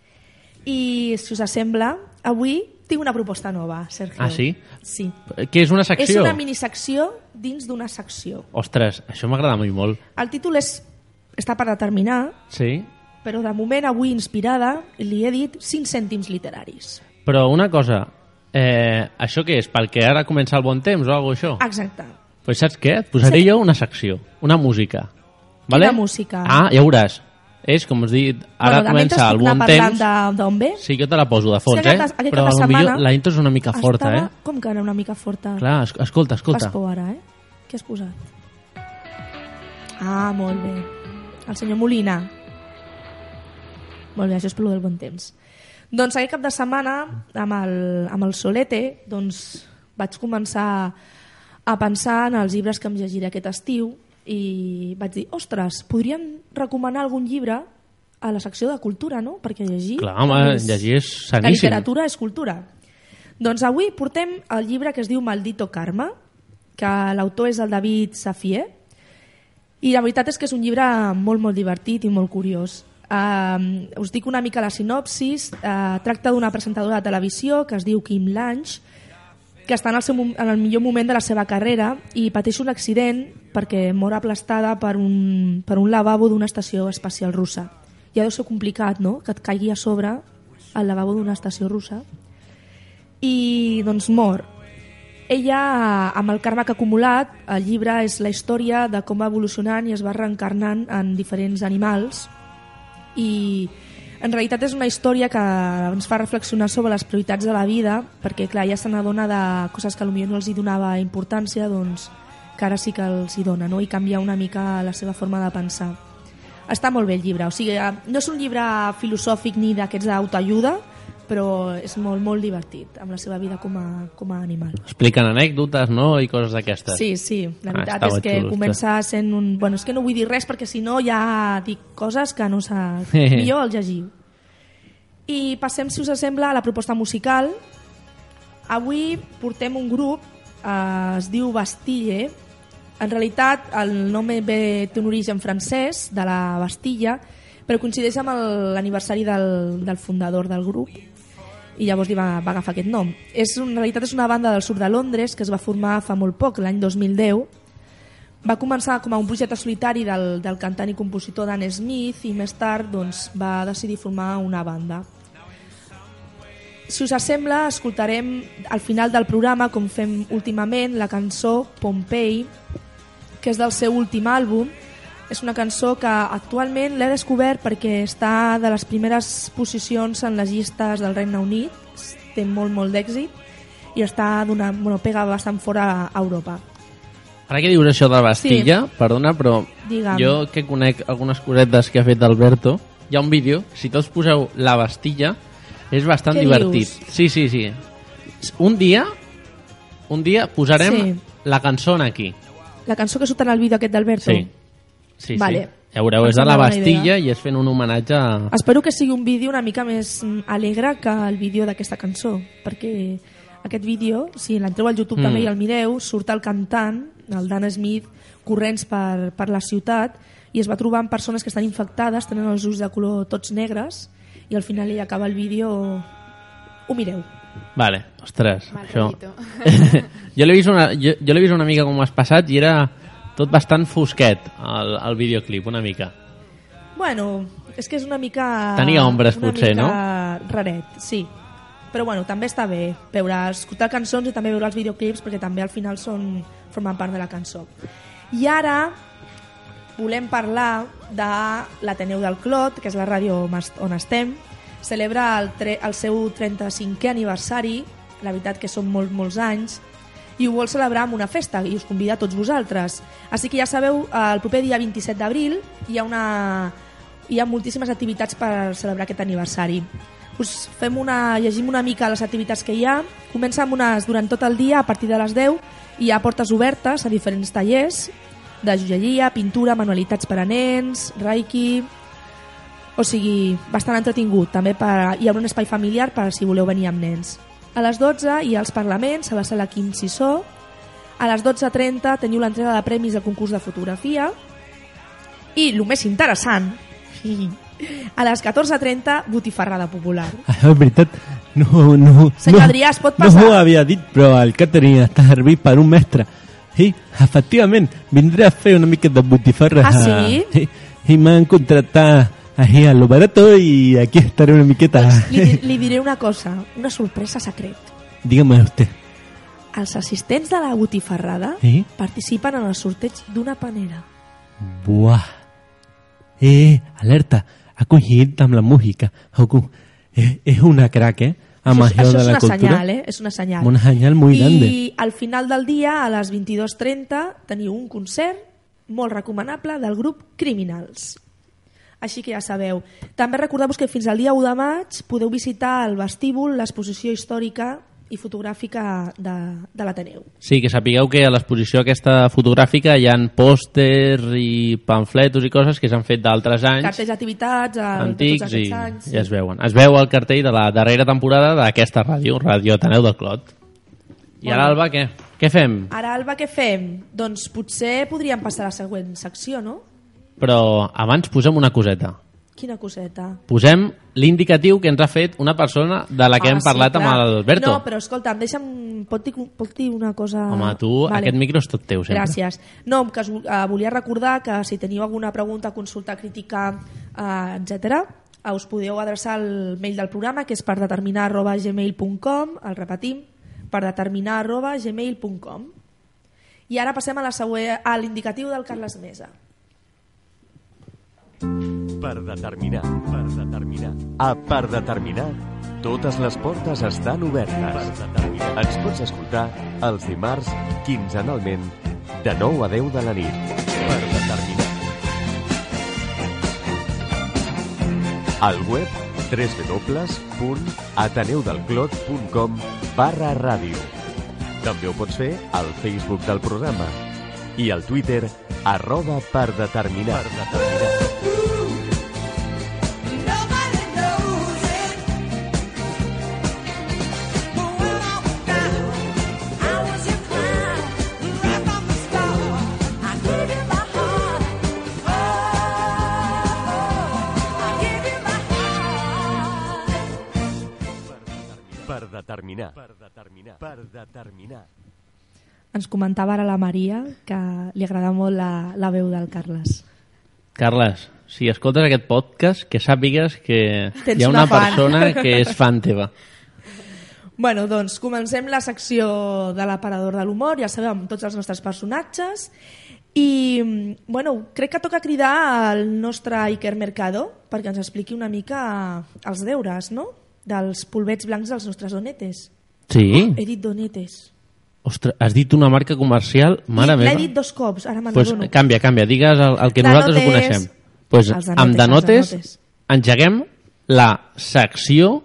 I si us sembla, avui tinc una proposta nova, Sergio. Ah, sí? Sí. Què és una secció? És una minisecció dins d'una secció. Ostres, això m'agrada molt. El títol està per determinar, sí, però de moment avui inspirada li he dit 5 cèntims literaris. Però una cosa, això què és? Perquè ara comença el bon temps o alguna cosa això? Exacte. Pues saps què? Et posaré jo una secció, una música. Vale? Quina música? Ah, ja veuràs. És, com has dit, ara comença el bon temps. D'on ve? Sí, jo te la poso de fons, però potser la intro és una mica forta, Com que era una mica forta? Clar, escolta. Fas por ara, Què has posat? Ah, molt bé. El senyor Molina. Molt bé, això és pel del bon temps. Doncs aquest cap de setmana, amb el solete, vaig començar a pensar en els llibres que em llegiré aquest estiu i vaig dir, ostres, podríem recomanar algun llibre a la secció de cultura, no? Perquè llegir... Clar, home, llegir és saníssim. La literatura és cultura. Doncs avui portem el llibre que es diu Maldito Karma, que l'autor és el David Safié, i la veritat és que és un llibre molt, molt divertit i molt curiós. Us dic una mica la sinopsis. Tracta d'una presentadora de televisió que es diu Kim Lange, que està en el millor moment de la seva carrera i pateix un accident perquè mor aplastada per un lavabo d'una estació espacial russa. Ja deu ser complicat, no?, que et caigui a sobre el lavabo d'una estació russa. I doncs mor. Ella, amb el karma que ha acumulat, el llibre és la història de com va evolucionant i es va reencarnant en diferents animals, i en realitat és una història que ens fa reflexionar sobre les prioritats de la vida, perquè clar, ja se n'adona de coses que potser no els hi donava importància, doncs que ara sí que els hi dona, no? I canvia una mica la seva forma de pensar. Està molt bé el llibre, o sigui, no és un llibre filosòfic ni d'aquests d'autoajuda, però és molt, molt divertit amb la seva vida com a animal. Expliquen anècdotes, no?, i coses d'aquestes. Sí, la veritat és que comença sent un... Bueno, és que no vull dir res perquè si no ja dic coses que no s'ha... Millor el llegiu. I passem, si us sembla, a la proposta musical. Avui portem un grup, es diu Bastille. En realitat el nom té un origen francès, de la Bastilla, però coincideix amb l'aniversari del fundador del grup i llavors li va agafar aquest nom. En realitat és una banda del sud de Londres que es va formar fa molt poc, l'any 2010. Va començar com a un projecte solitari del cantant i compositor Dan Smith i més tard doncs, va decidir formar una banda. Si us sembla, escoltarem al final del programa, com fem últimament, la cançó Pompeii, que és del seu últim àlbum. És una cançó que actualment l'he descobert perquè està de les primeres posicions en les llistes del Regne Unit, té molt d'èxit i pega bastant fora a Europa. Ara que dius això de la Bastilla, sí. Perdona, però digue'm. Jo que conec algunes cosetes que ha fet Alberto, hi ha un vídeo, si tots poseu la Bastilla, és bastant divertit. Dius? Sí. Un dia posarem la cançó aquí. La cançó que surt en el vídeo aquest d'Alberto? Sí. Vale. Ja veureu, és de la Bastilla i és fent un homenatge a... Espero que sigui un vídeo una mica més alegre que el vídeo d'aquesta cançó, perquè aquest vídeo, si l'entreu al YouTube també i el mireu, surt el cantant, el Dan Smith, corrents per la ciutat i es va trobar amb persones que estan infectades, tenen els ulls de color tots negres i al final ell acaba el vídeo... Ho mireu. Vale, ostres, això... jo l'he vist una mica com has passat i era tot bastant fosquet el videoclip, una mica. Bueno, és que és una mica... Tenia ombres potser, no? Una mica raret, sí. Però bueno, també està bé escoltar cançons i també veure els videoclips perquè també al final formen part de la cançó. I ara volem parlar de l'Ateneu del Clot, que és la ràdio on estem. Celebra el seu 35è aniversari, la veritat que són molts anys, i ho vol celebrar amb una festa i us convida a tots vosaltres. Així que ja sabeu, el proper dia 27 d'abril hi ha moltíssimes activitats per celebrar aquest aniversari. Llegim una mica les activitats que hi ha. Comença amb unes durant tot el dia, a partir de les 10 hi ha portes obertes a diferents tallers de joieria, pintura, manualitats per a nens, reiki, o sigui, bastant entretingut. També hi ha un espai familiar per si voleu venir amb nens. A les 12 hi ha els parlaments a la sala Quim Sisó. A les 12:30 teniu l'entrega de premis del concurs de fotografia i el més interessant, a les 14:30 botifarrada popular. És veritat, no. Senyor Adrià, es pot passar? No ho havia dit, però el catering està servit per un mestre. Sí, efectivament, vindré a fer una mica de botifarra. Ah, sí? I m'han contratat ahí a lo barato y aquí estaré una miqueta. Li diré una cosa, una sorpresa secret. Dígame usted. Els assistents de la botifarrada participen en el sorteig d'una panera. Buah. Alerta, ha coincidit amb la música. És una crack, Això és una senyal, és una senyal. Una senyal molt grande. I al final del dia, a les 22:30, teniu un concert molt recomanable del grup Criminals. Així que ja sabeu. També recordeu-vos que fins al dia 1 de maig podeu visitar el vestíbul, l'exposició històrica i fotogràfica de l'Ateneu. Sí, que sapigueu que a l'exposició aquesta fotogràfica hi ha pòsters i pamfletos i coses que s'han fet d'altres anys. Cartells d'activitats antics i anys. Ja es veuen. Es veu el cartell de la darrera temporada d'aquesta ràdio, Ràdio Ateneu del Clot. I ara, Alba, què? Què fem? Ara, Alba, què fem? Doncs potser podríem passar a la següent secció, no? Però abans posem una coseta. Quina coseta? Posem l'indicatiu que ens ha fet una persona de la que hem parlat amb l'Alberto. No, però escolta'm, pot dir una cosa... Home, tu, aquest micro és tot teu, sempre. Gràcies. No, que volia recordar que si teniu alguna pregunta, consulta, crítica, etc., us podeu adreçar al mail del programa, que és perdeterminar@gmail.com, el repetim, perdeterminar@gmail.com. I ara passem a l'indicatiu del Carles Mesa. Per determinar. A Per determinar, totes les portes estan obertes. Ens pots escoltar els dimarts, quinzenalment, de 9 a 10 de la nit. Per determinar. Al web www.ateneudelclot.com/ràdio. També ho pots fer al Facebook del programa i al Twitter @perdeterminar. determinar. Ens comentava ara la Maria que li agrada molt la veu del Carles. Carles, si escoltes aquest podcast, que sàpigues que Tens hi ha una una fan. persona que és fan teva. Bueno, doncs comencem la secció de l'aparador de l'humor, ja sabeu, amb tots els nostres personatges. I, bueno, crec que toca cridar al nostre Iker Mercado perquè ens expliqui una mica els deures, no?, dels polvets blancs dels nostres donetes. Sí? He dit donetes. Ostres, has dit una marca comercial, mare meva. L'he dit 2 cops, ara me'n Pues adono. canvia, digues el que nosaltres ho Danotes. coneixem. Pues Els danotes, amb els Danotes danotes. engeguem la secció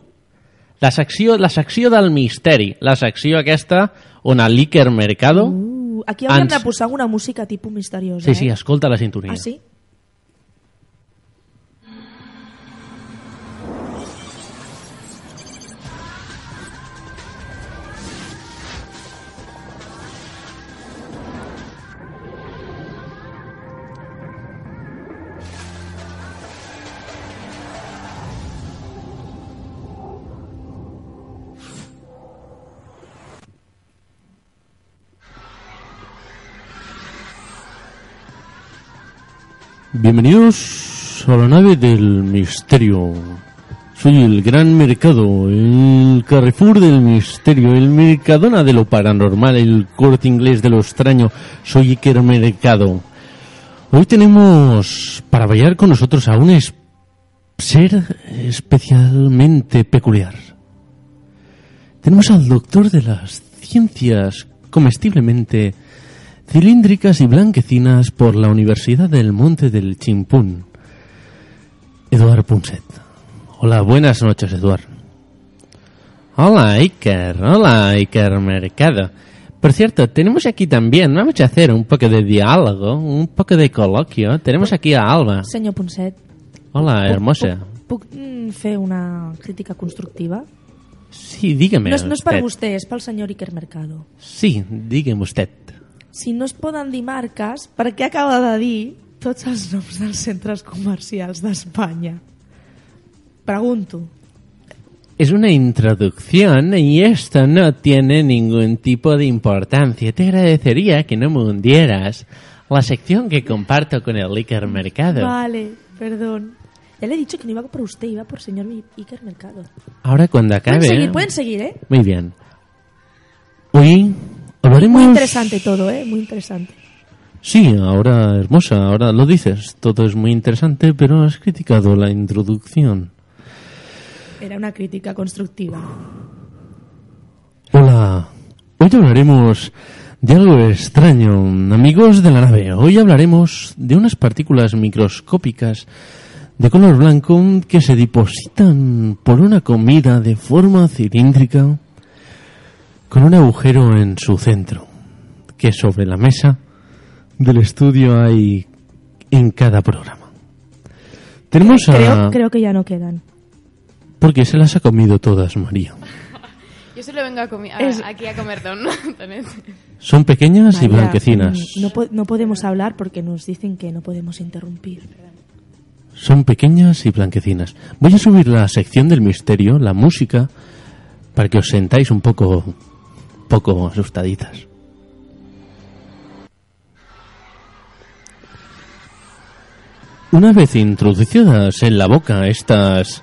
del misteri, la secció aquesta on l'Iker Mercado... Aquí hauríem de posar alguna música tipus misteriosa. Sí, escolta la sintonia. Ah, sí? Bienvenidos a la nave del misterio. Soy el Gran Mercado, el Carrefour del misterio, el Mercadona de lo paranormal, el Corte Inglés de lo extraño. Soy Iker Mercado. Hoy tenemos para bailar con nosotros a un ser especialmente peculiar. Tenemos al doctor de las ciencias comestiblemente cilíndricas y blanquecinas por la Universidad del Monte del Chimpún, Eduard Punset. Hola, buenas noches, Eduard. Hola, Iker Mercado. Por cierto, tenemos aquí también, vamos a hacer un poco de diálogo, un poco de coloquio. Tenemos aquí a Alba. Senyor Punset. Hola, hermosa. Puc fer una crítica constructiva? Sí, dígame. No és per usted. vostè, és pel senyor Iker Mercado. Sí, dígame usted. Si no es poden dir marques, per què acaba de dir tots els noms dels centres comercials d'Espanya? Pregunto. Es una introducción y esto no tiene ningún tipo de importancia. Te agradecería que no me hundieras la sección que comparto con el Iker Mercado. Vale, perdón. Ya le he dicho que no iba por usted, iba por señor Iker Mercado. Ahora cuando acabe... Pueden seguir, ¿eh? Muy bien. Hoy hablaremos... Muy interesante todo, ¿eh? Muy interesante. Sí, ahora, hermosa, ahora lo dices. Todo es muy interesante, pero has criticado la introducción. Era una crítica constructiva. Hola, hoy hablaremos de algo extraño, amigos de la nave. Hoy hablaremos de unas partículas microscópicas de color blanco que se depositan por una comida de forma cilíndrica con un agujero en su centro, que sobre la mesa del estudio hay en cada programa. Tenemos Creo que ya no quedan. Porque se las ha comido todas, María. Yo solo vengo aquí a comer donuts. Son pequeñas y María, blanquecinas. No podemos hablar porque nos dicen que no podemos interrumpir. Son pequeñas y blanquecinas. Voy a subir la sección del misterio, la música, para que os sentáis un poco asustaditas. Una vez introducidas en la boca estos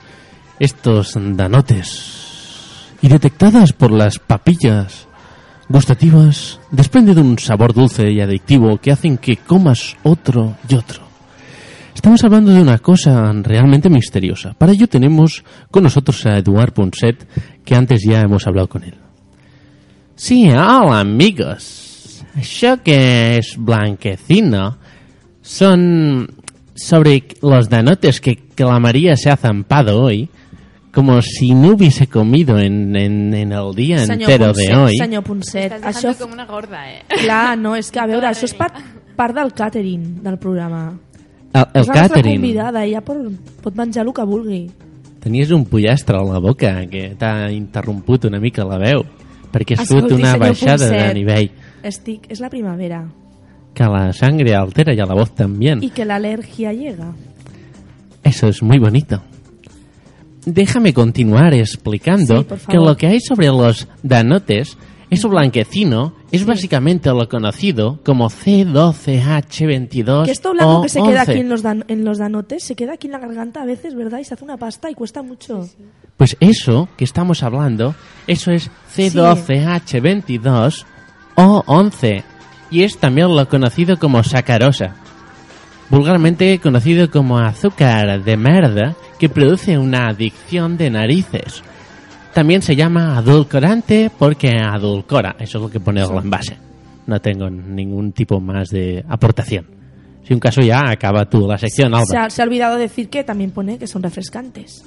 danotes y detectadas por las papillas gustativas, desprende de un sabor dulce y adictivo que hacen que comas otro y otro. Estamos hablando de una cosa realmente misteriosa. Para ello tenemos con nosotros a Eduard Punset, que antes ya hemos hablado con él. Sí, hola, amigos. Això que es blanquecino son sobre los danotes que la María se ha zampado hoy, como si no hubiese comido en el día entero de hoy. Senyor Punset, Estàs dejando com una gorda, eh? Clar, no, és que, a veure, això és part del catering del programa. El és la nostra catering. convidada, ella pot menjar el que vulgui. Tenies un pollastre a la boca que t'ha interromput una mica la veu, perquè has fet Escolti, una senyor baixada de Punset, nivell. És la primavera. Que la sangre altera y a la voz también. Y que la alergia llega. Eso es muy bonito. déjame continuar explicando Sí, por favor. que lo que hay sobre los danotes, eso blanquecino, es básicamente lo conocido como C12H22 Que esto blanco o que se queda 11. aquí en los danotes, se queda aquí en la garganta a veces, ¿verdad? Y se hace una pasta y cuesta mucho. Pues eso que estamos hablando, eso es C12H22 o 11 y es también lo conocido como sacarosa, vulgarmente conocido como azúcar de merda que produce una adicción de narices. También se llama adulcorante porque adulcora, eso es lo que pone el envase. No tengo ningún tipo más de aportación. Si un caso ya acaba tú la sección, Alba. Se ha olvidado decir que también pone que son refrescantes.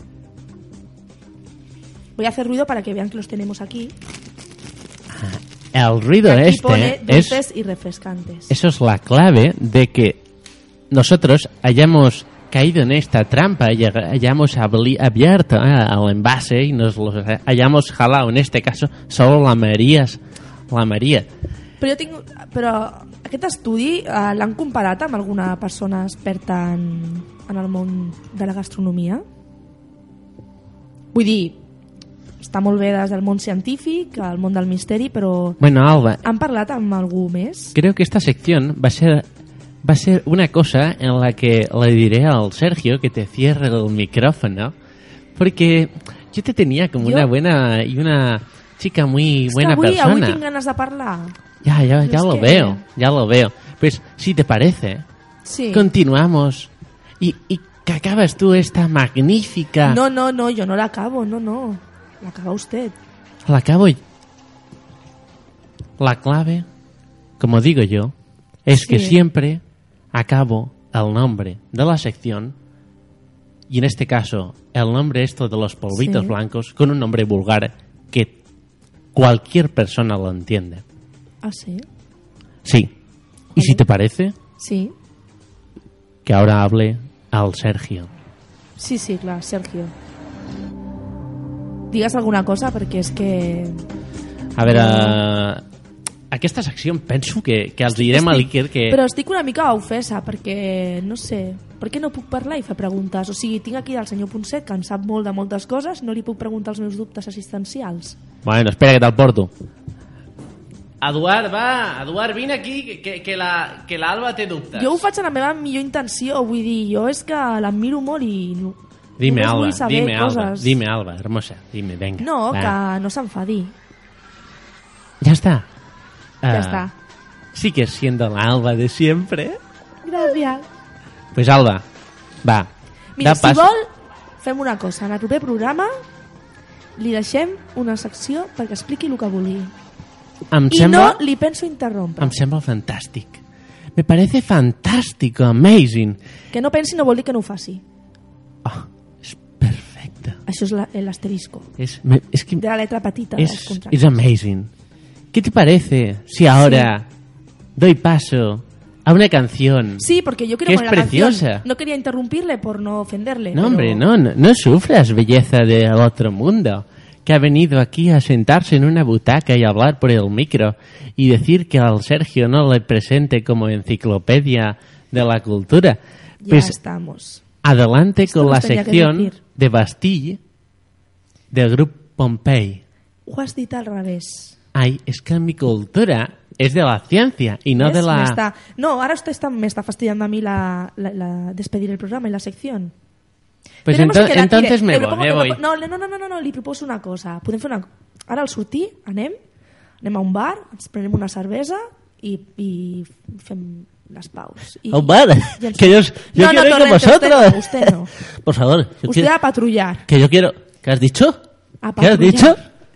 Voy a hacer ruido para que vean que los tenemos aquí. El ruido Y aquí este pone es... dulces y refrescantes. Eso es la clave de que nosotros hayamos caído en esta trampa y hayamos abierto el envase y nos los hayamos jalado, en este caso, solo la Maria. Però aquest estudi l'han comparat amb alguna persona experta en el món de la gastronomia? Vull dir, està molt bé des del món científic, el món del misteri, però Bueno, Alba, han parlat amb algú més? creo que esta sección va a ser una cosa en la que le diré al Sergio que te cierre el micrófono, porque yo te tenía como una buena y una chica muy buena avui persona. tinc ganes de parlar. Ya Es lo que- veo. Pues si te parece, Sí. continuamos y que acabas tú esta magnífica... No, yo no la acabo, no. La acaba usted. La acabo. La clave, como digo yo, es que Sí. siempre acabo el nombre de la sección, y en este caso el nombre esto de los polvitos Sí. blancos, con un nombre vulgar que cualquier persona lo entiende. Ah, sí? Sí. ¿Y si te parece Sí. que ahora hable al Sergio? Sí, clar, Sergio. Digues alguna cosa, perquè és que... A veure, aquesta secció penso que els direm a l'Iker que... Però estic una mica ofesa, perquè, no sé, per què no puc parlar i fer preguntes? O sigui, tinc aquí el senyor Ponset, que en sap molt de moltes coses, no li puc preguntar els meus dubtes assistencials. Bueno, espera que te'l porto. Eduard, vine aquí, que l'Alba té dubtes. Jo ho faig amb la meva millor intenció, vull dir, jo és que l'admiro molt i... Dime, només Alba, vull saber coses. dime, Alba, hermosa, dime, venga. No, va. que no s'enfadi. Ya está. Ya está. Sigues siendo la Alba de siempre. Gràcies. Pues Alba, va. Mira, da si pas- vol, fem una cosa. En el proper programa li deixem una secció perquè expliqui el que vulgui. Em I sembla, no li penso interrompre. em sembla fantàstic. Me parece fantástico, amazing. Que no pensi no vol dir que no ho faci. Perfecte. Això és l'asterisco. Es que De la letra petita dels es contractes. amazing. ¿Qué te parece si ahora doy paso a una canción? Sí, porque yo quiero que es poner la preciosa. canción. No quería interrumpirle por no ofenderle. No, pero- hombre, no sufras, belleza del otro mundo, que ha venido aquí a sentarse en una butaca y hablar por el micro y decir que al Sergio no le presente como enciclopedia de la cultura. Ya Pues estamos. adelante Esto con nos la tenía que sección decir. de Bastille del grupo Pompey. Ho has dit al revés. Ay, es que mi cultura es de la ciencia y no ¿Ves? de la... No, ahora usted me está fastidiando a mí la despedir el programa y la sección. Pues Tenemos que quedar- entonces mire, me voy. No, li proposo una cosa. Podem fer una... Ara al sortir anem a un bar, ens prenem una cervesa i fem les paus. I, ¿A un bar? i ens- Que yo no, quiero ir con Torrente, vosotros. Usted no. Por favor. yo Usted quiero- a patrullar. Que yo quiero... ¿Qué has dicho? A ¿Qué has patrullar. dicho?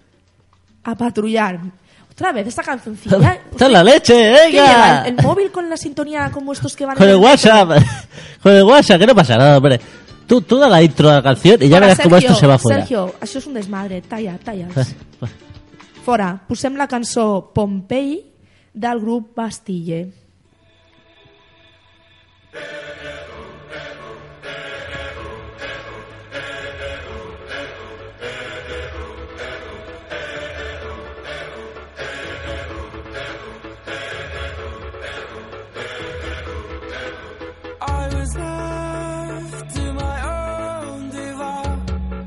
A patrullar. Otra vez esta cancioncilla. ¡Está en la leche, ¿Qué lleva? venga! ¿El móvil con la sintonía como estos que van Con en el metro? WhatsApp. Con el WhatsApp, que no pasa nada, hombre. Tú da la intro de la canción y ya Fora, verás cómo esto se va fuera. Sergio, això és un desmadre. Talla'ls. Fora, posem la cançó Pompei del grup Bastille. I was left to my own device.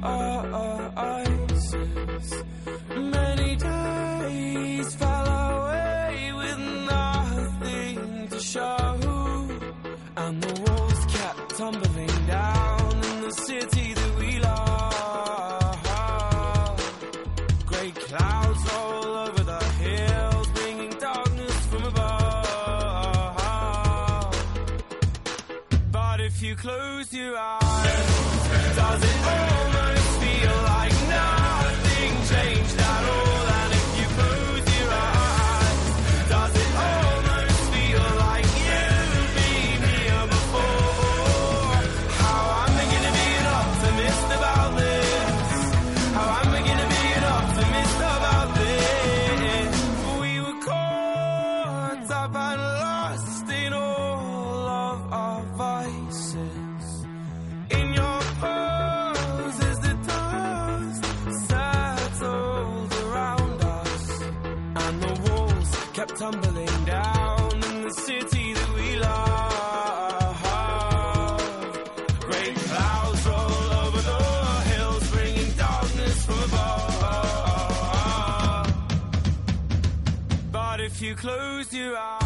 close your eyes, does it almost feel like nothing changed at all? And if you close your eyes, does it almost feel like you've been here before? How I'm beginning to be an optimist about this. How I'm beginning to be an optimist about this. We were caught up and lost in all of our vices. In your pose as the dust settled around us, and the walls kept tumbling down in the city that we love. Great clouds roll over the hills, bringing darkness from above. But if you close your eyes,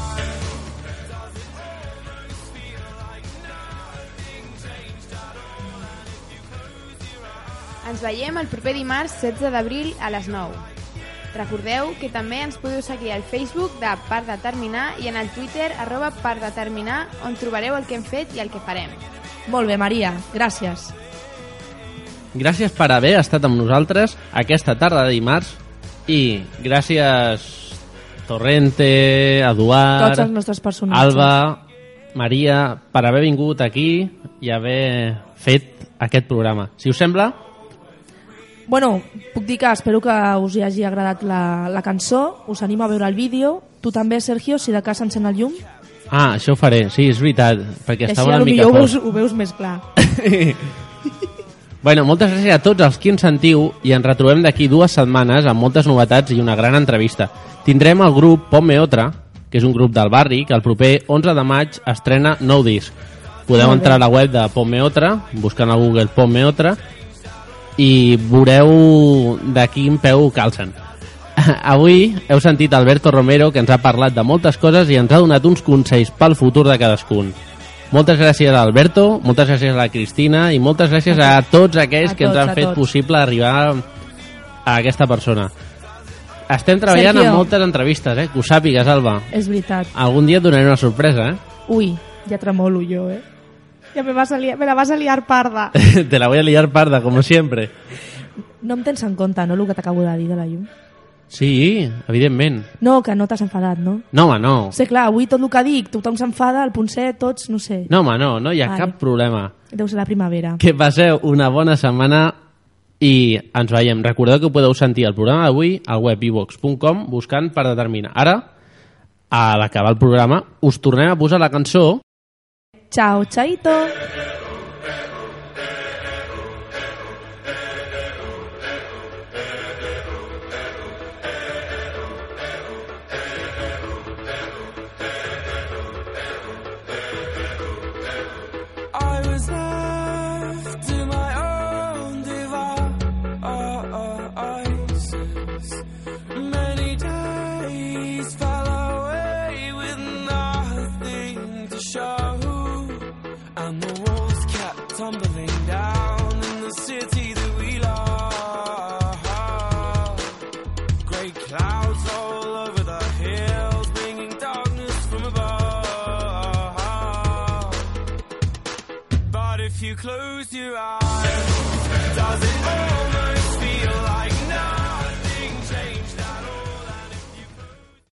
ens veiem el proper dimarts 16 d'abril a les 9. Recordeu que també ens podeu seguir al Facebook de Per Determinar i en el Twitter @perdeterminar, on trobareu el que hem fet i el que farem. Molt bé, Maria, gràcies. Gràcies per haver estat amb nosaltres aquesta tarda de dimarts i gràcies Torrente, Eduard, Tots els nostres personatges. Alba, Maria, per haver vingut aquí i haver fet aquest programa. Si us sembla... Bueno, puc dir que espero que us hi hagi agradat la cançó, us animo a veure el vídeo. Tu també, Sergio, si de cas encén el llum. Ah, això ho faré, sí, és veritat, perquè estava una mica fort. Ho veus més clar. Bueno, moltes gràcies a tots els que ens sentiu i ens retrobem d'aquí 2 setmanes amb moltes novetats i una gran entrevista. Tindrem el grup Ponme Otra, que és un grup del barri, que el proper 11 de maig estrena nou disc. Podeu entrar a la web de Ponme Otra, buscant a Google Ponme Otra, i veureu de quin peu calcen. Avui heu sentit Alberto Romero, que ens ha parlat de moltes coses i ens ha donat uns consells pel futur de cadascun. Moltes gràcies a Alberto, moltes gràcies a la Cristina i moltes gràcies a tots aquells que ens han fet possible arribar a aquesta persona. Estem treballant en moltes entrevistes, que ho sàpigues, Alba. És veritat. Algun dia et donaré una sorpresa, Ui, ja tremolo jo, Ja me la vas a liar parda. Te la voy a liar parda, como siempre. No em tens en compte, no, el que t'acabo de dir de la llum? Sí, evidentment. No, que no t'has enfadat, no? No, home, no. Sí, clar, avui tot el que dic, tothom s'enfada, el Ponset, tots, no sé. No, home, no hi ha cap problema. Deu ser la primavera. Que passeu una bona setmana i ens veiem. Recordeu que podeu sentir el programa d'avui al web iVox.com buscant Per Determinar. Ara, a l'acabar el programa, us tornem a posar la cançó. Chao, chaito. I was left to my own devices. Many days fell away with nothing to show, and the walls kept tumbling down in the city that we love. Great clouds all over the hills, bringing darkness from above. But if you close your eyes,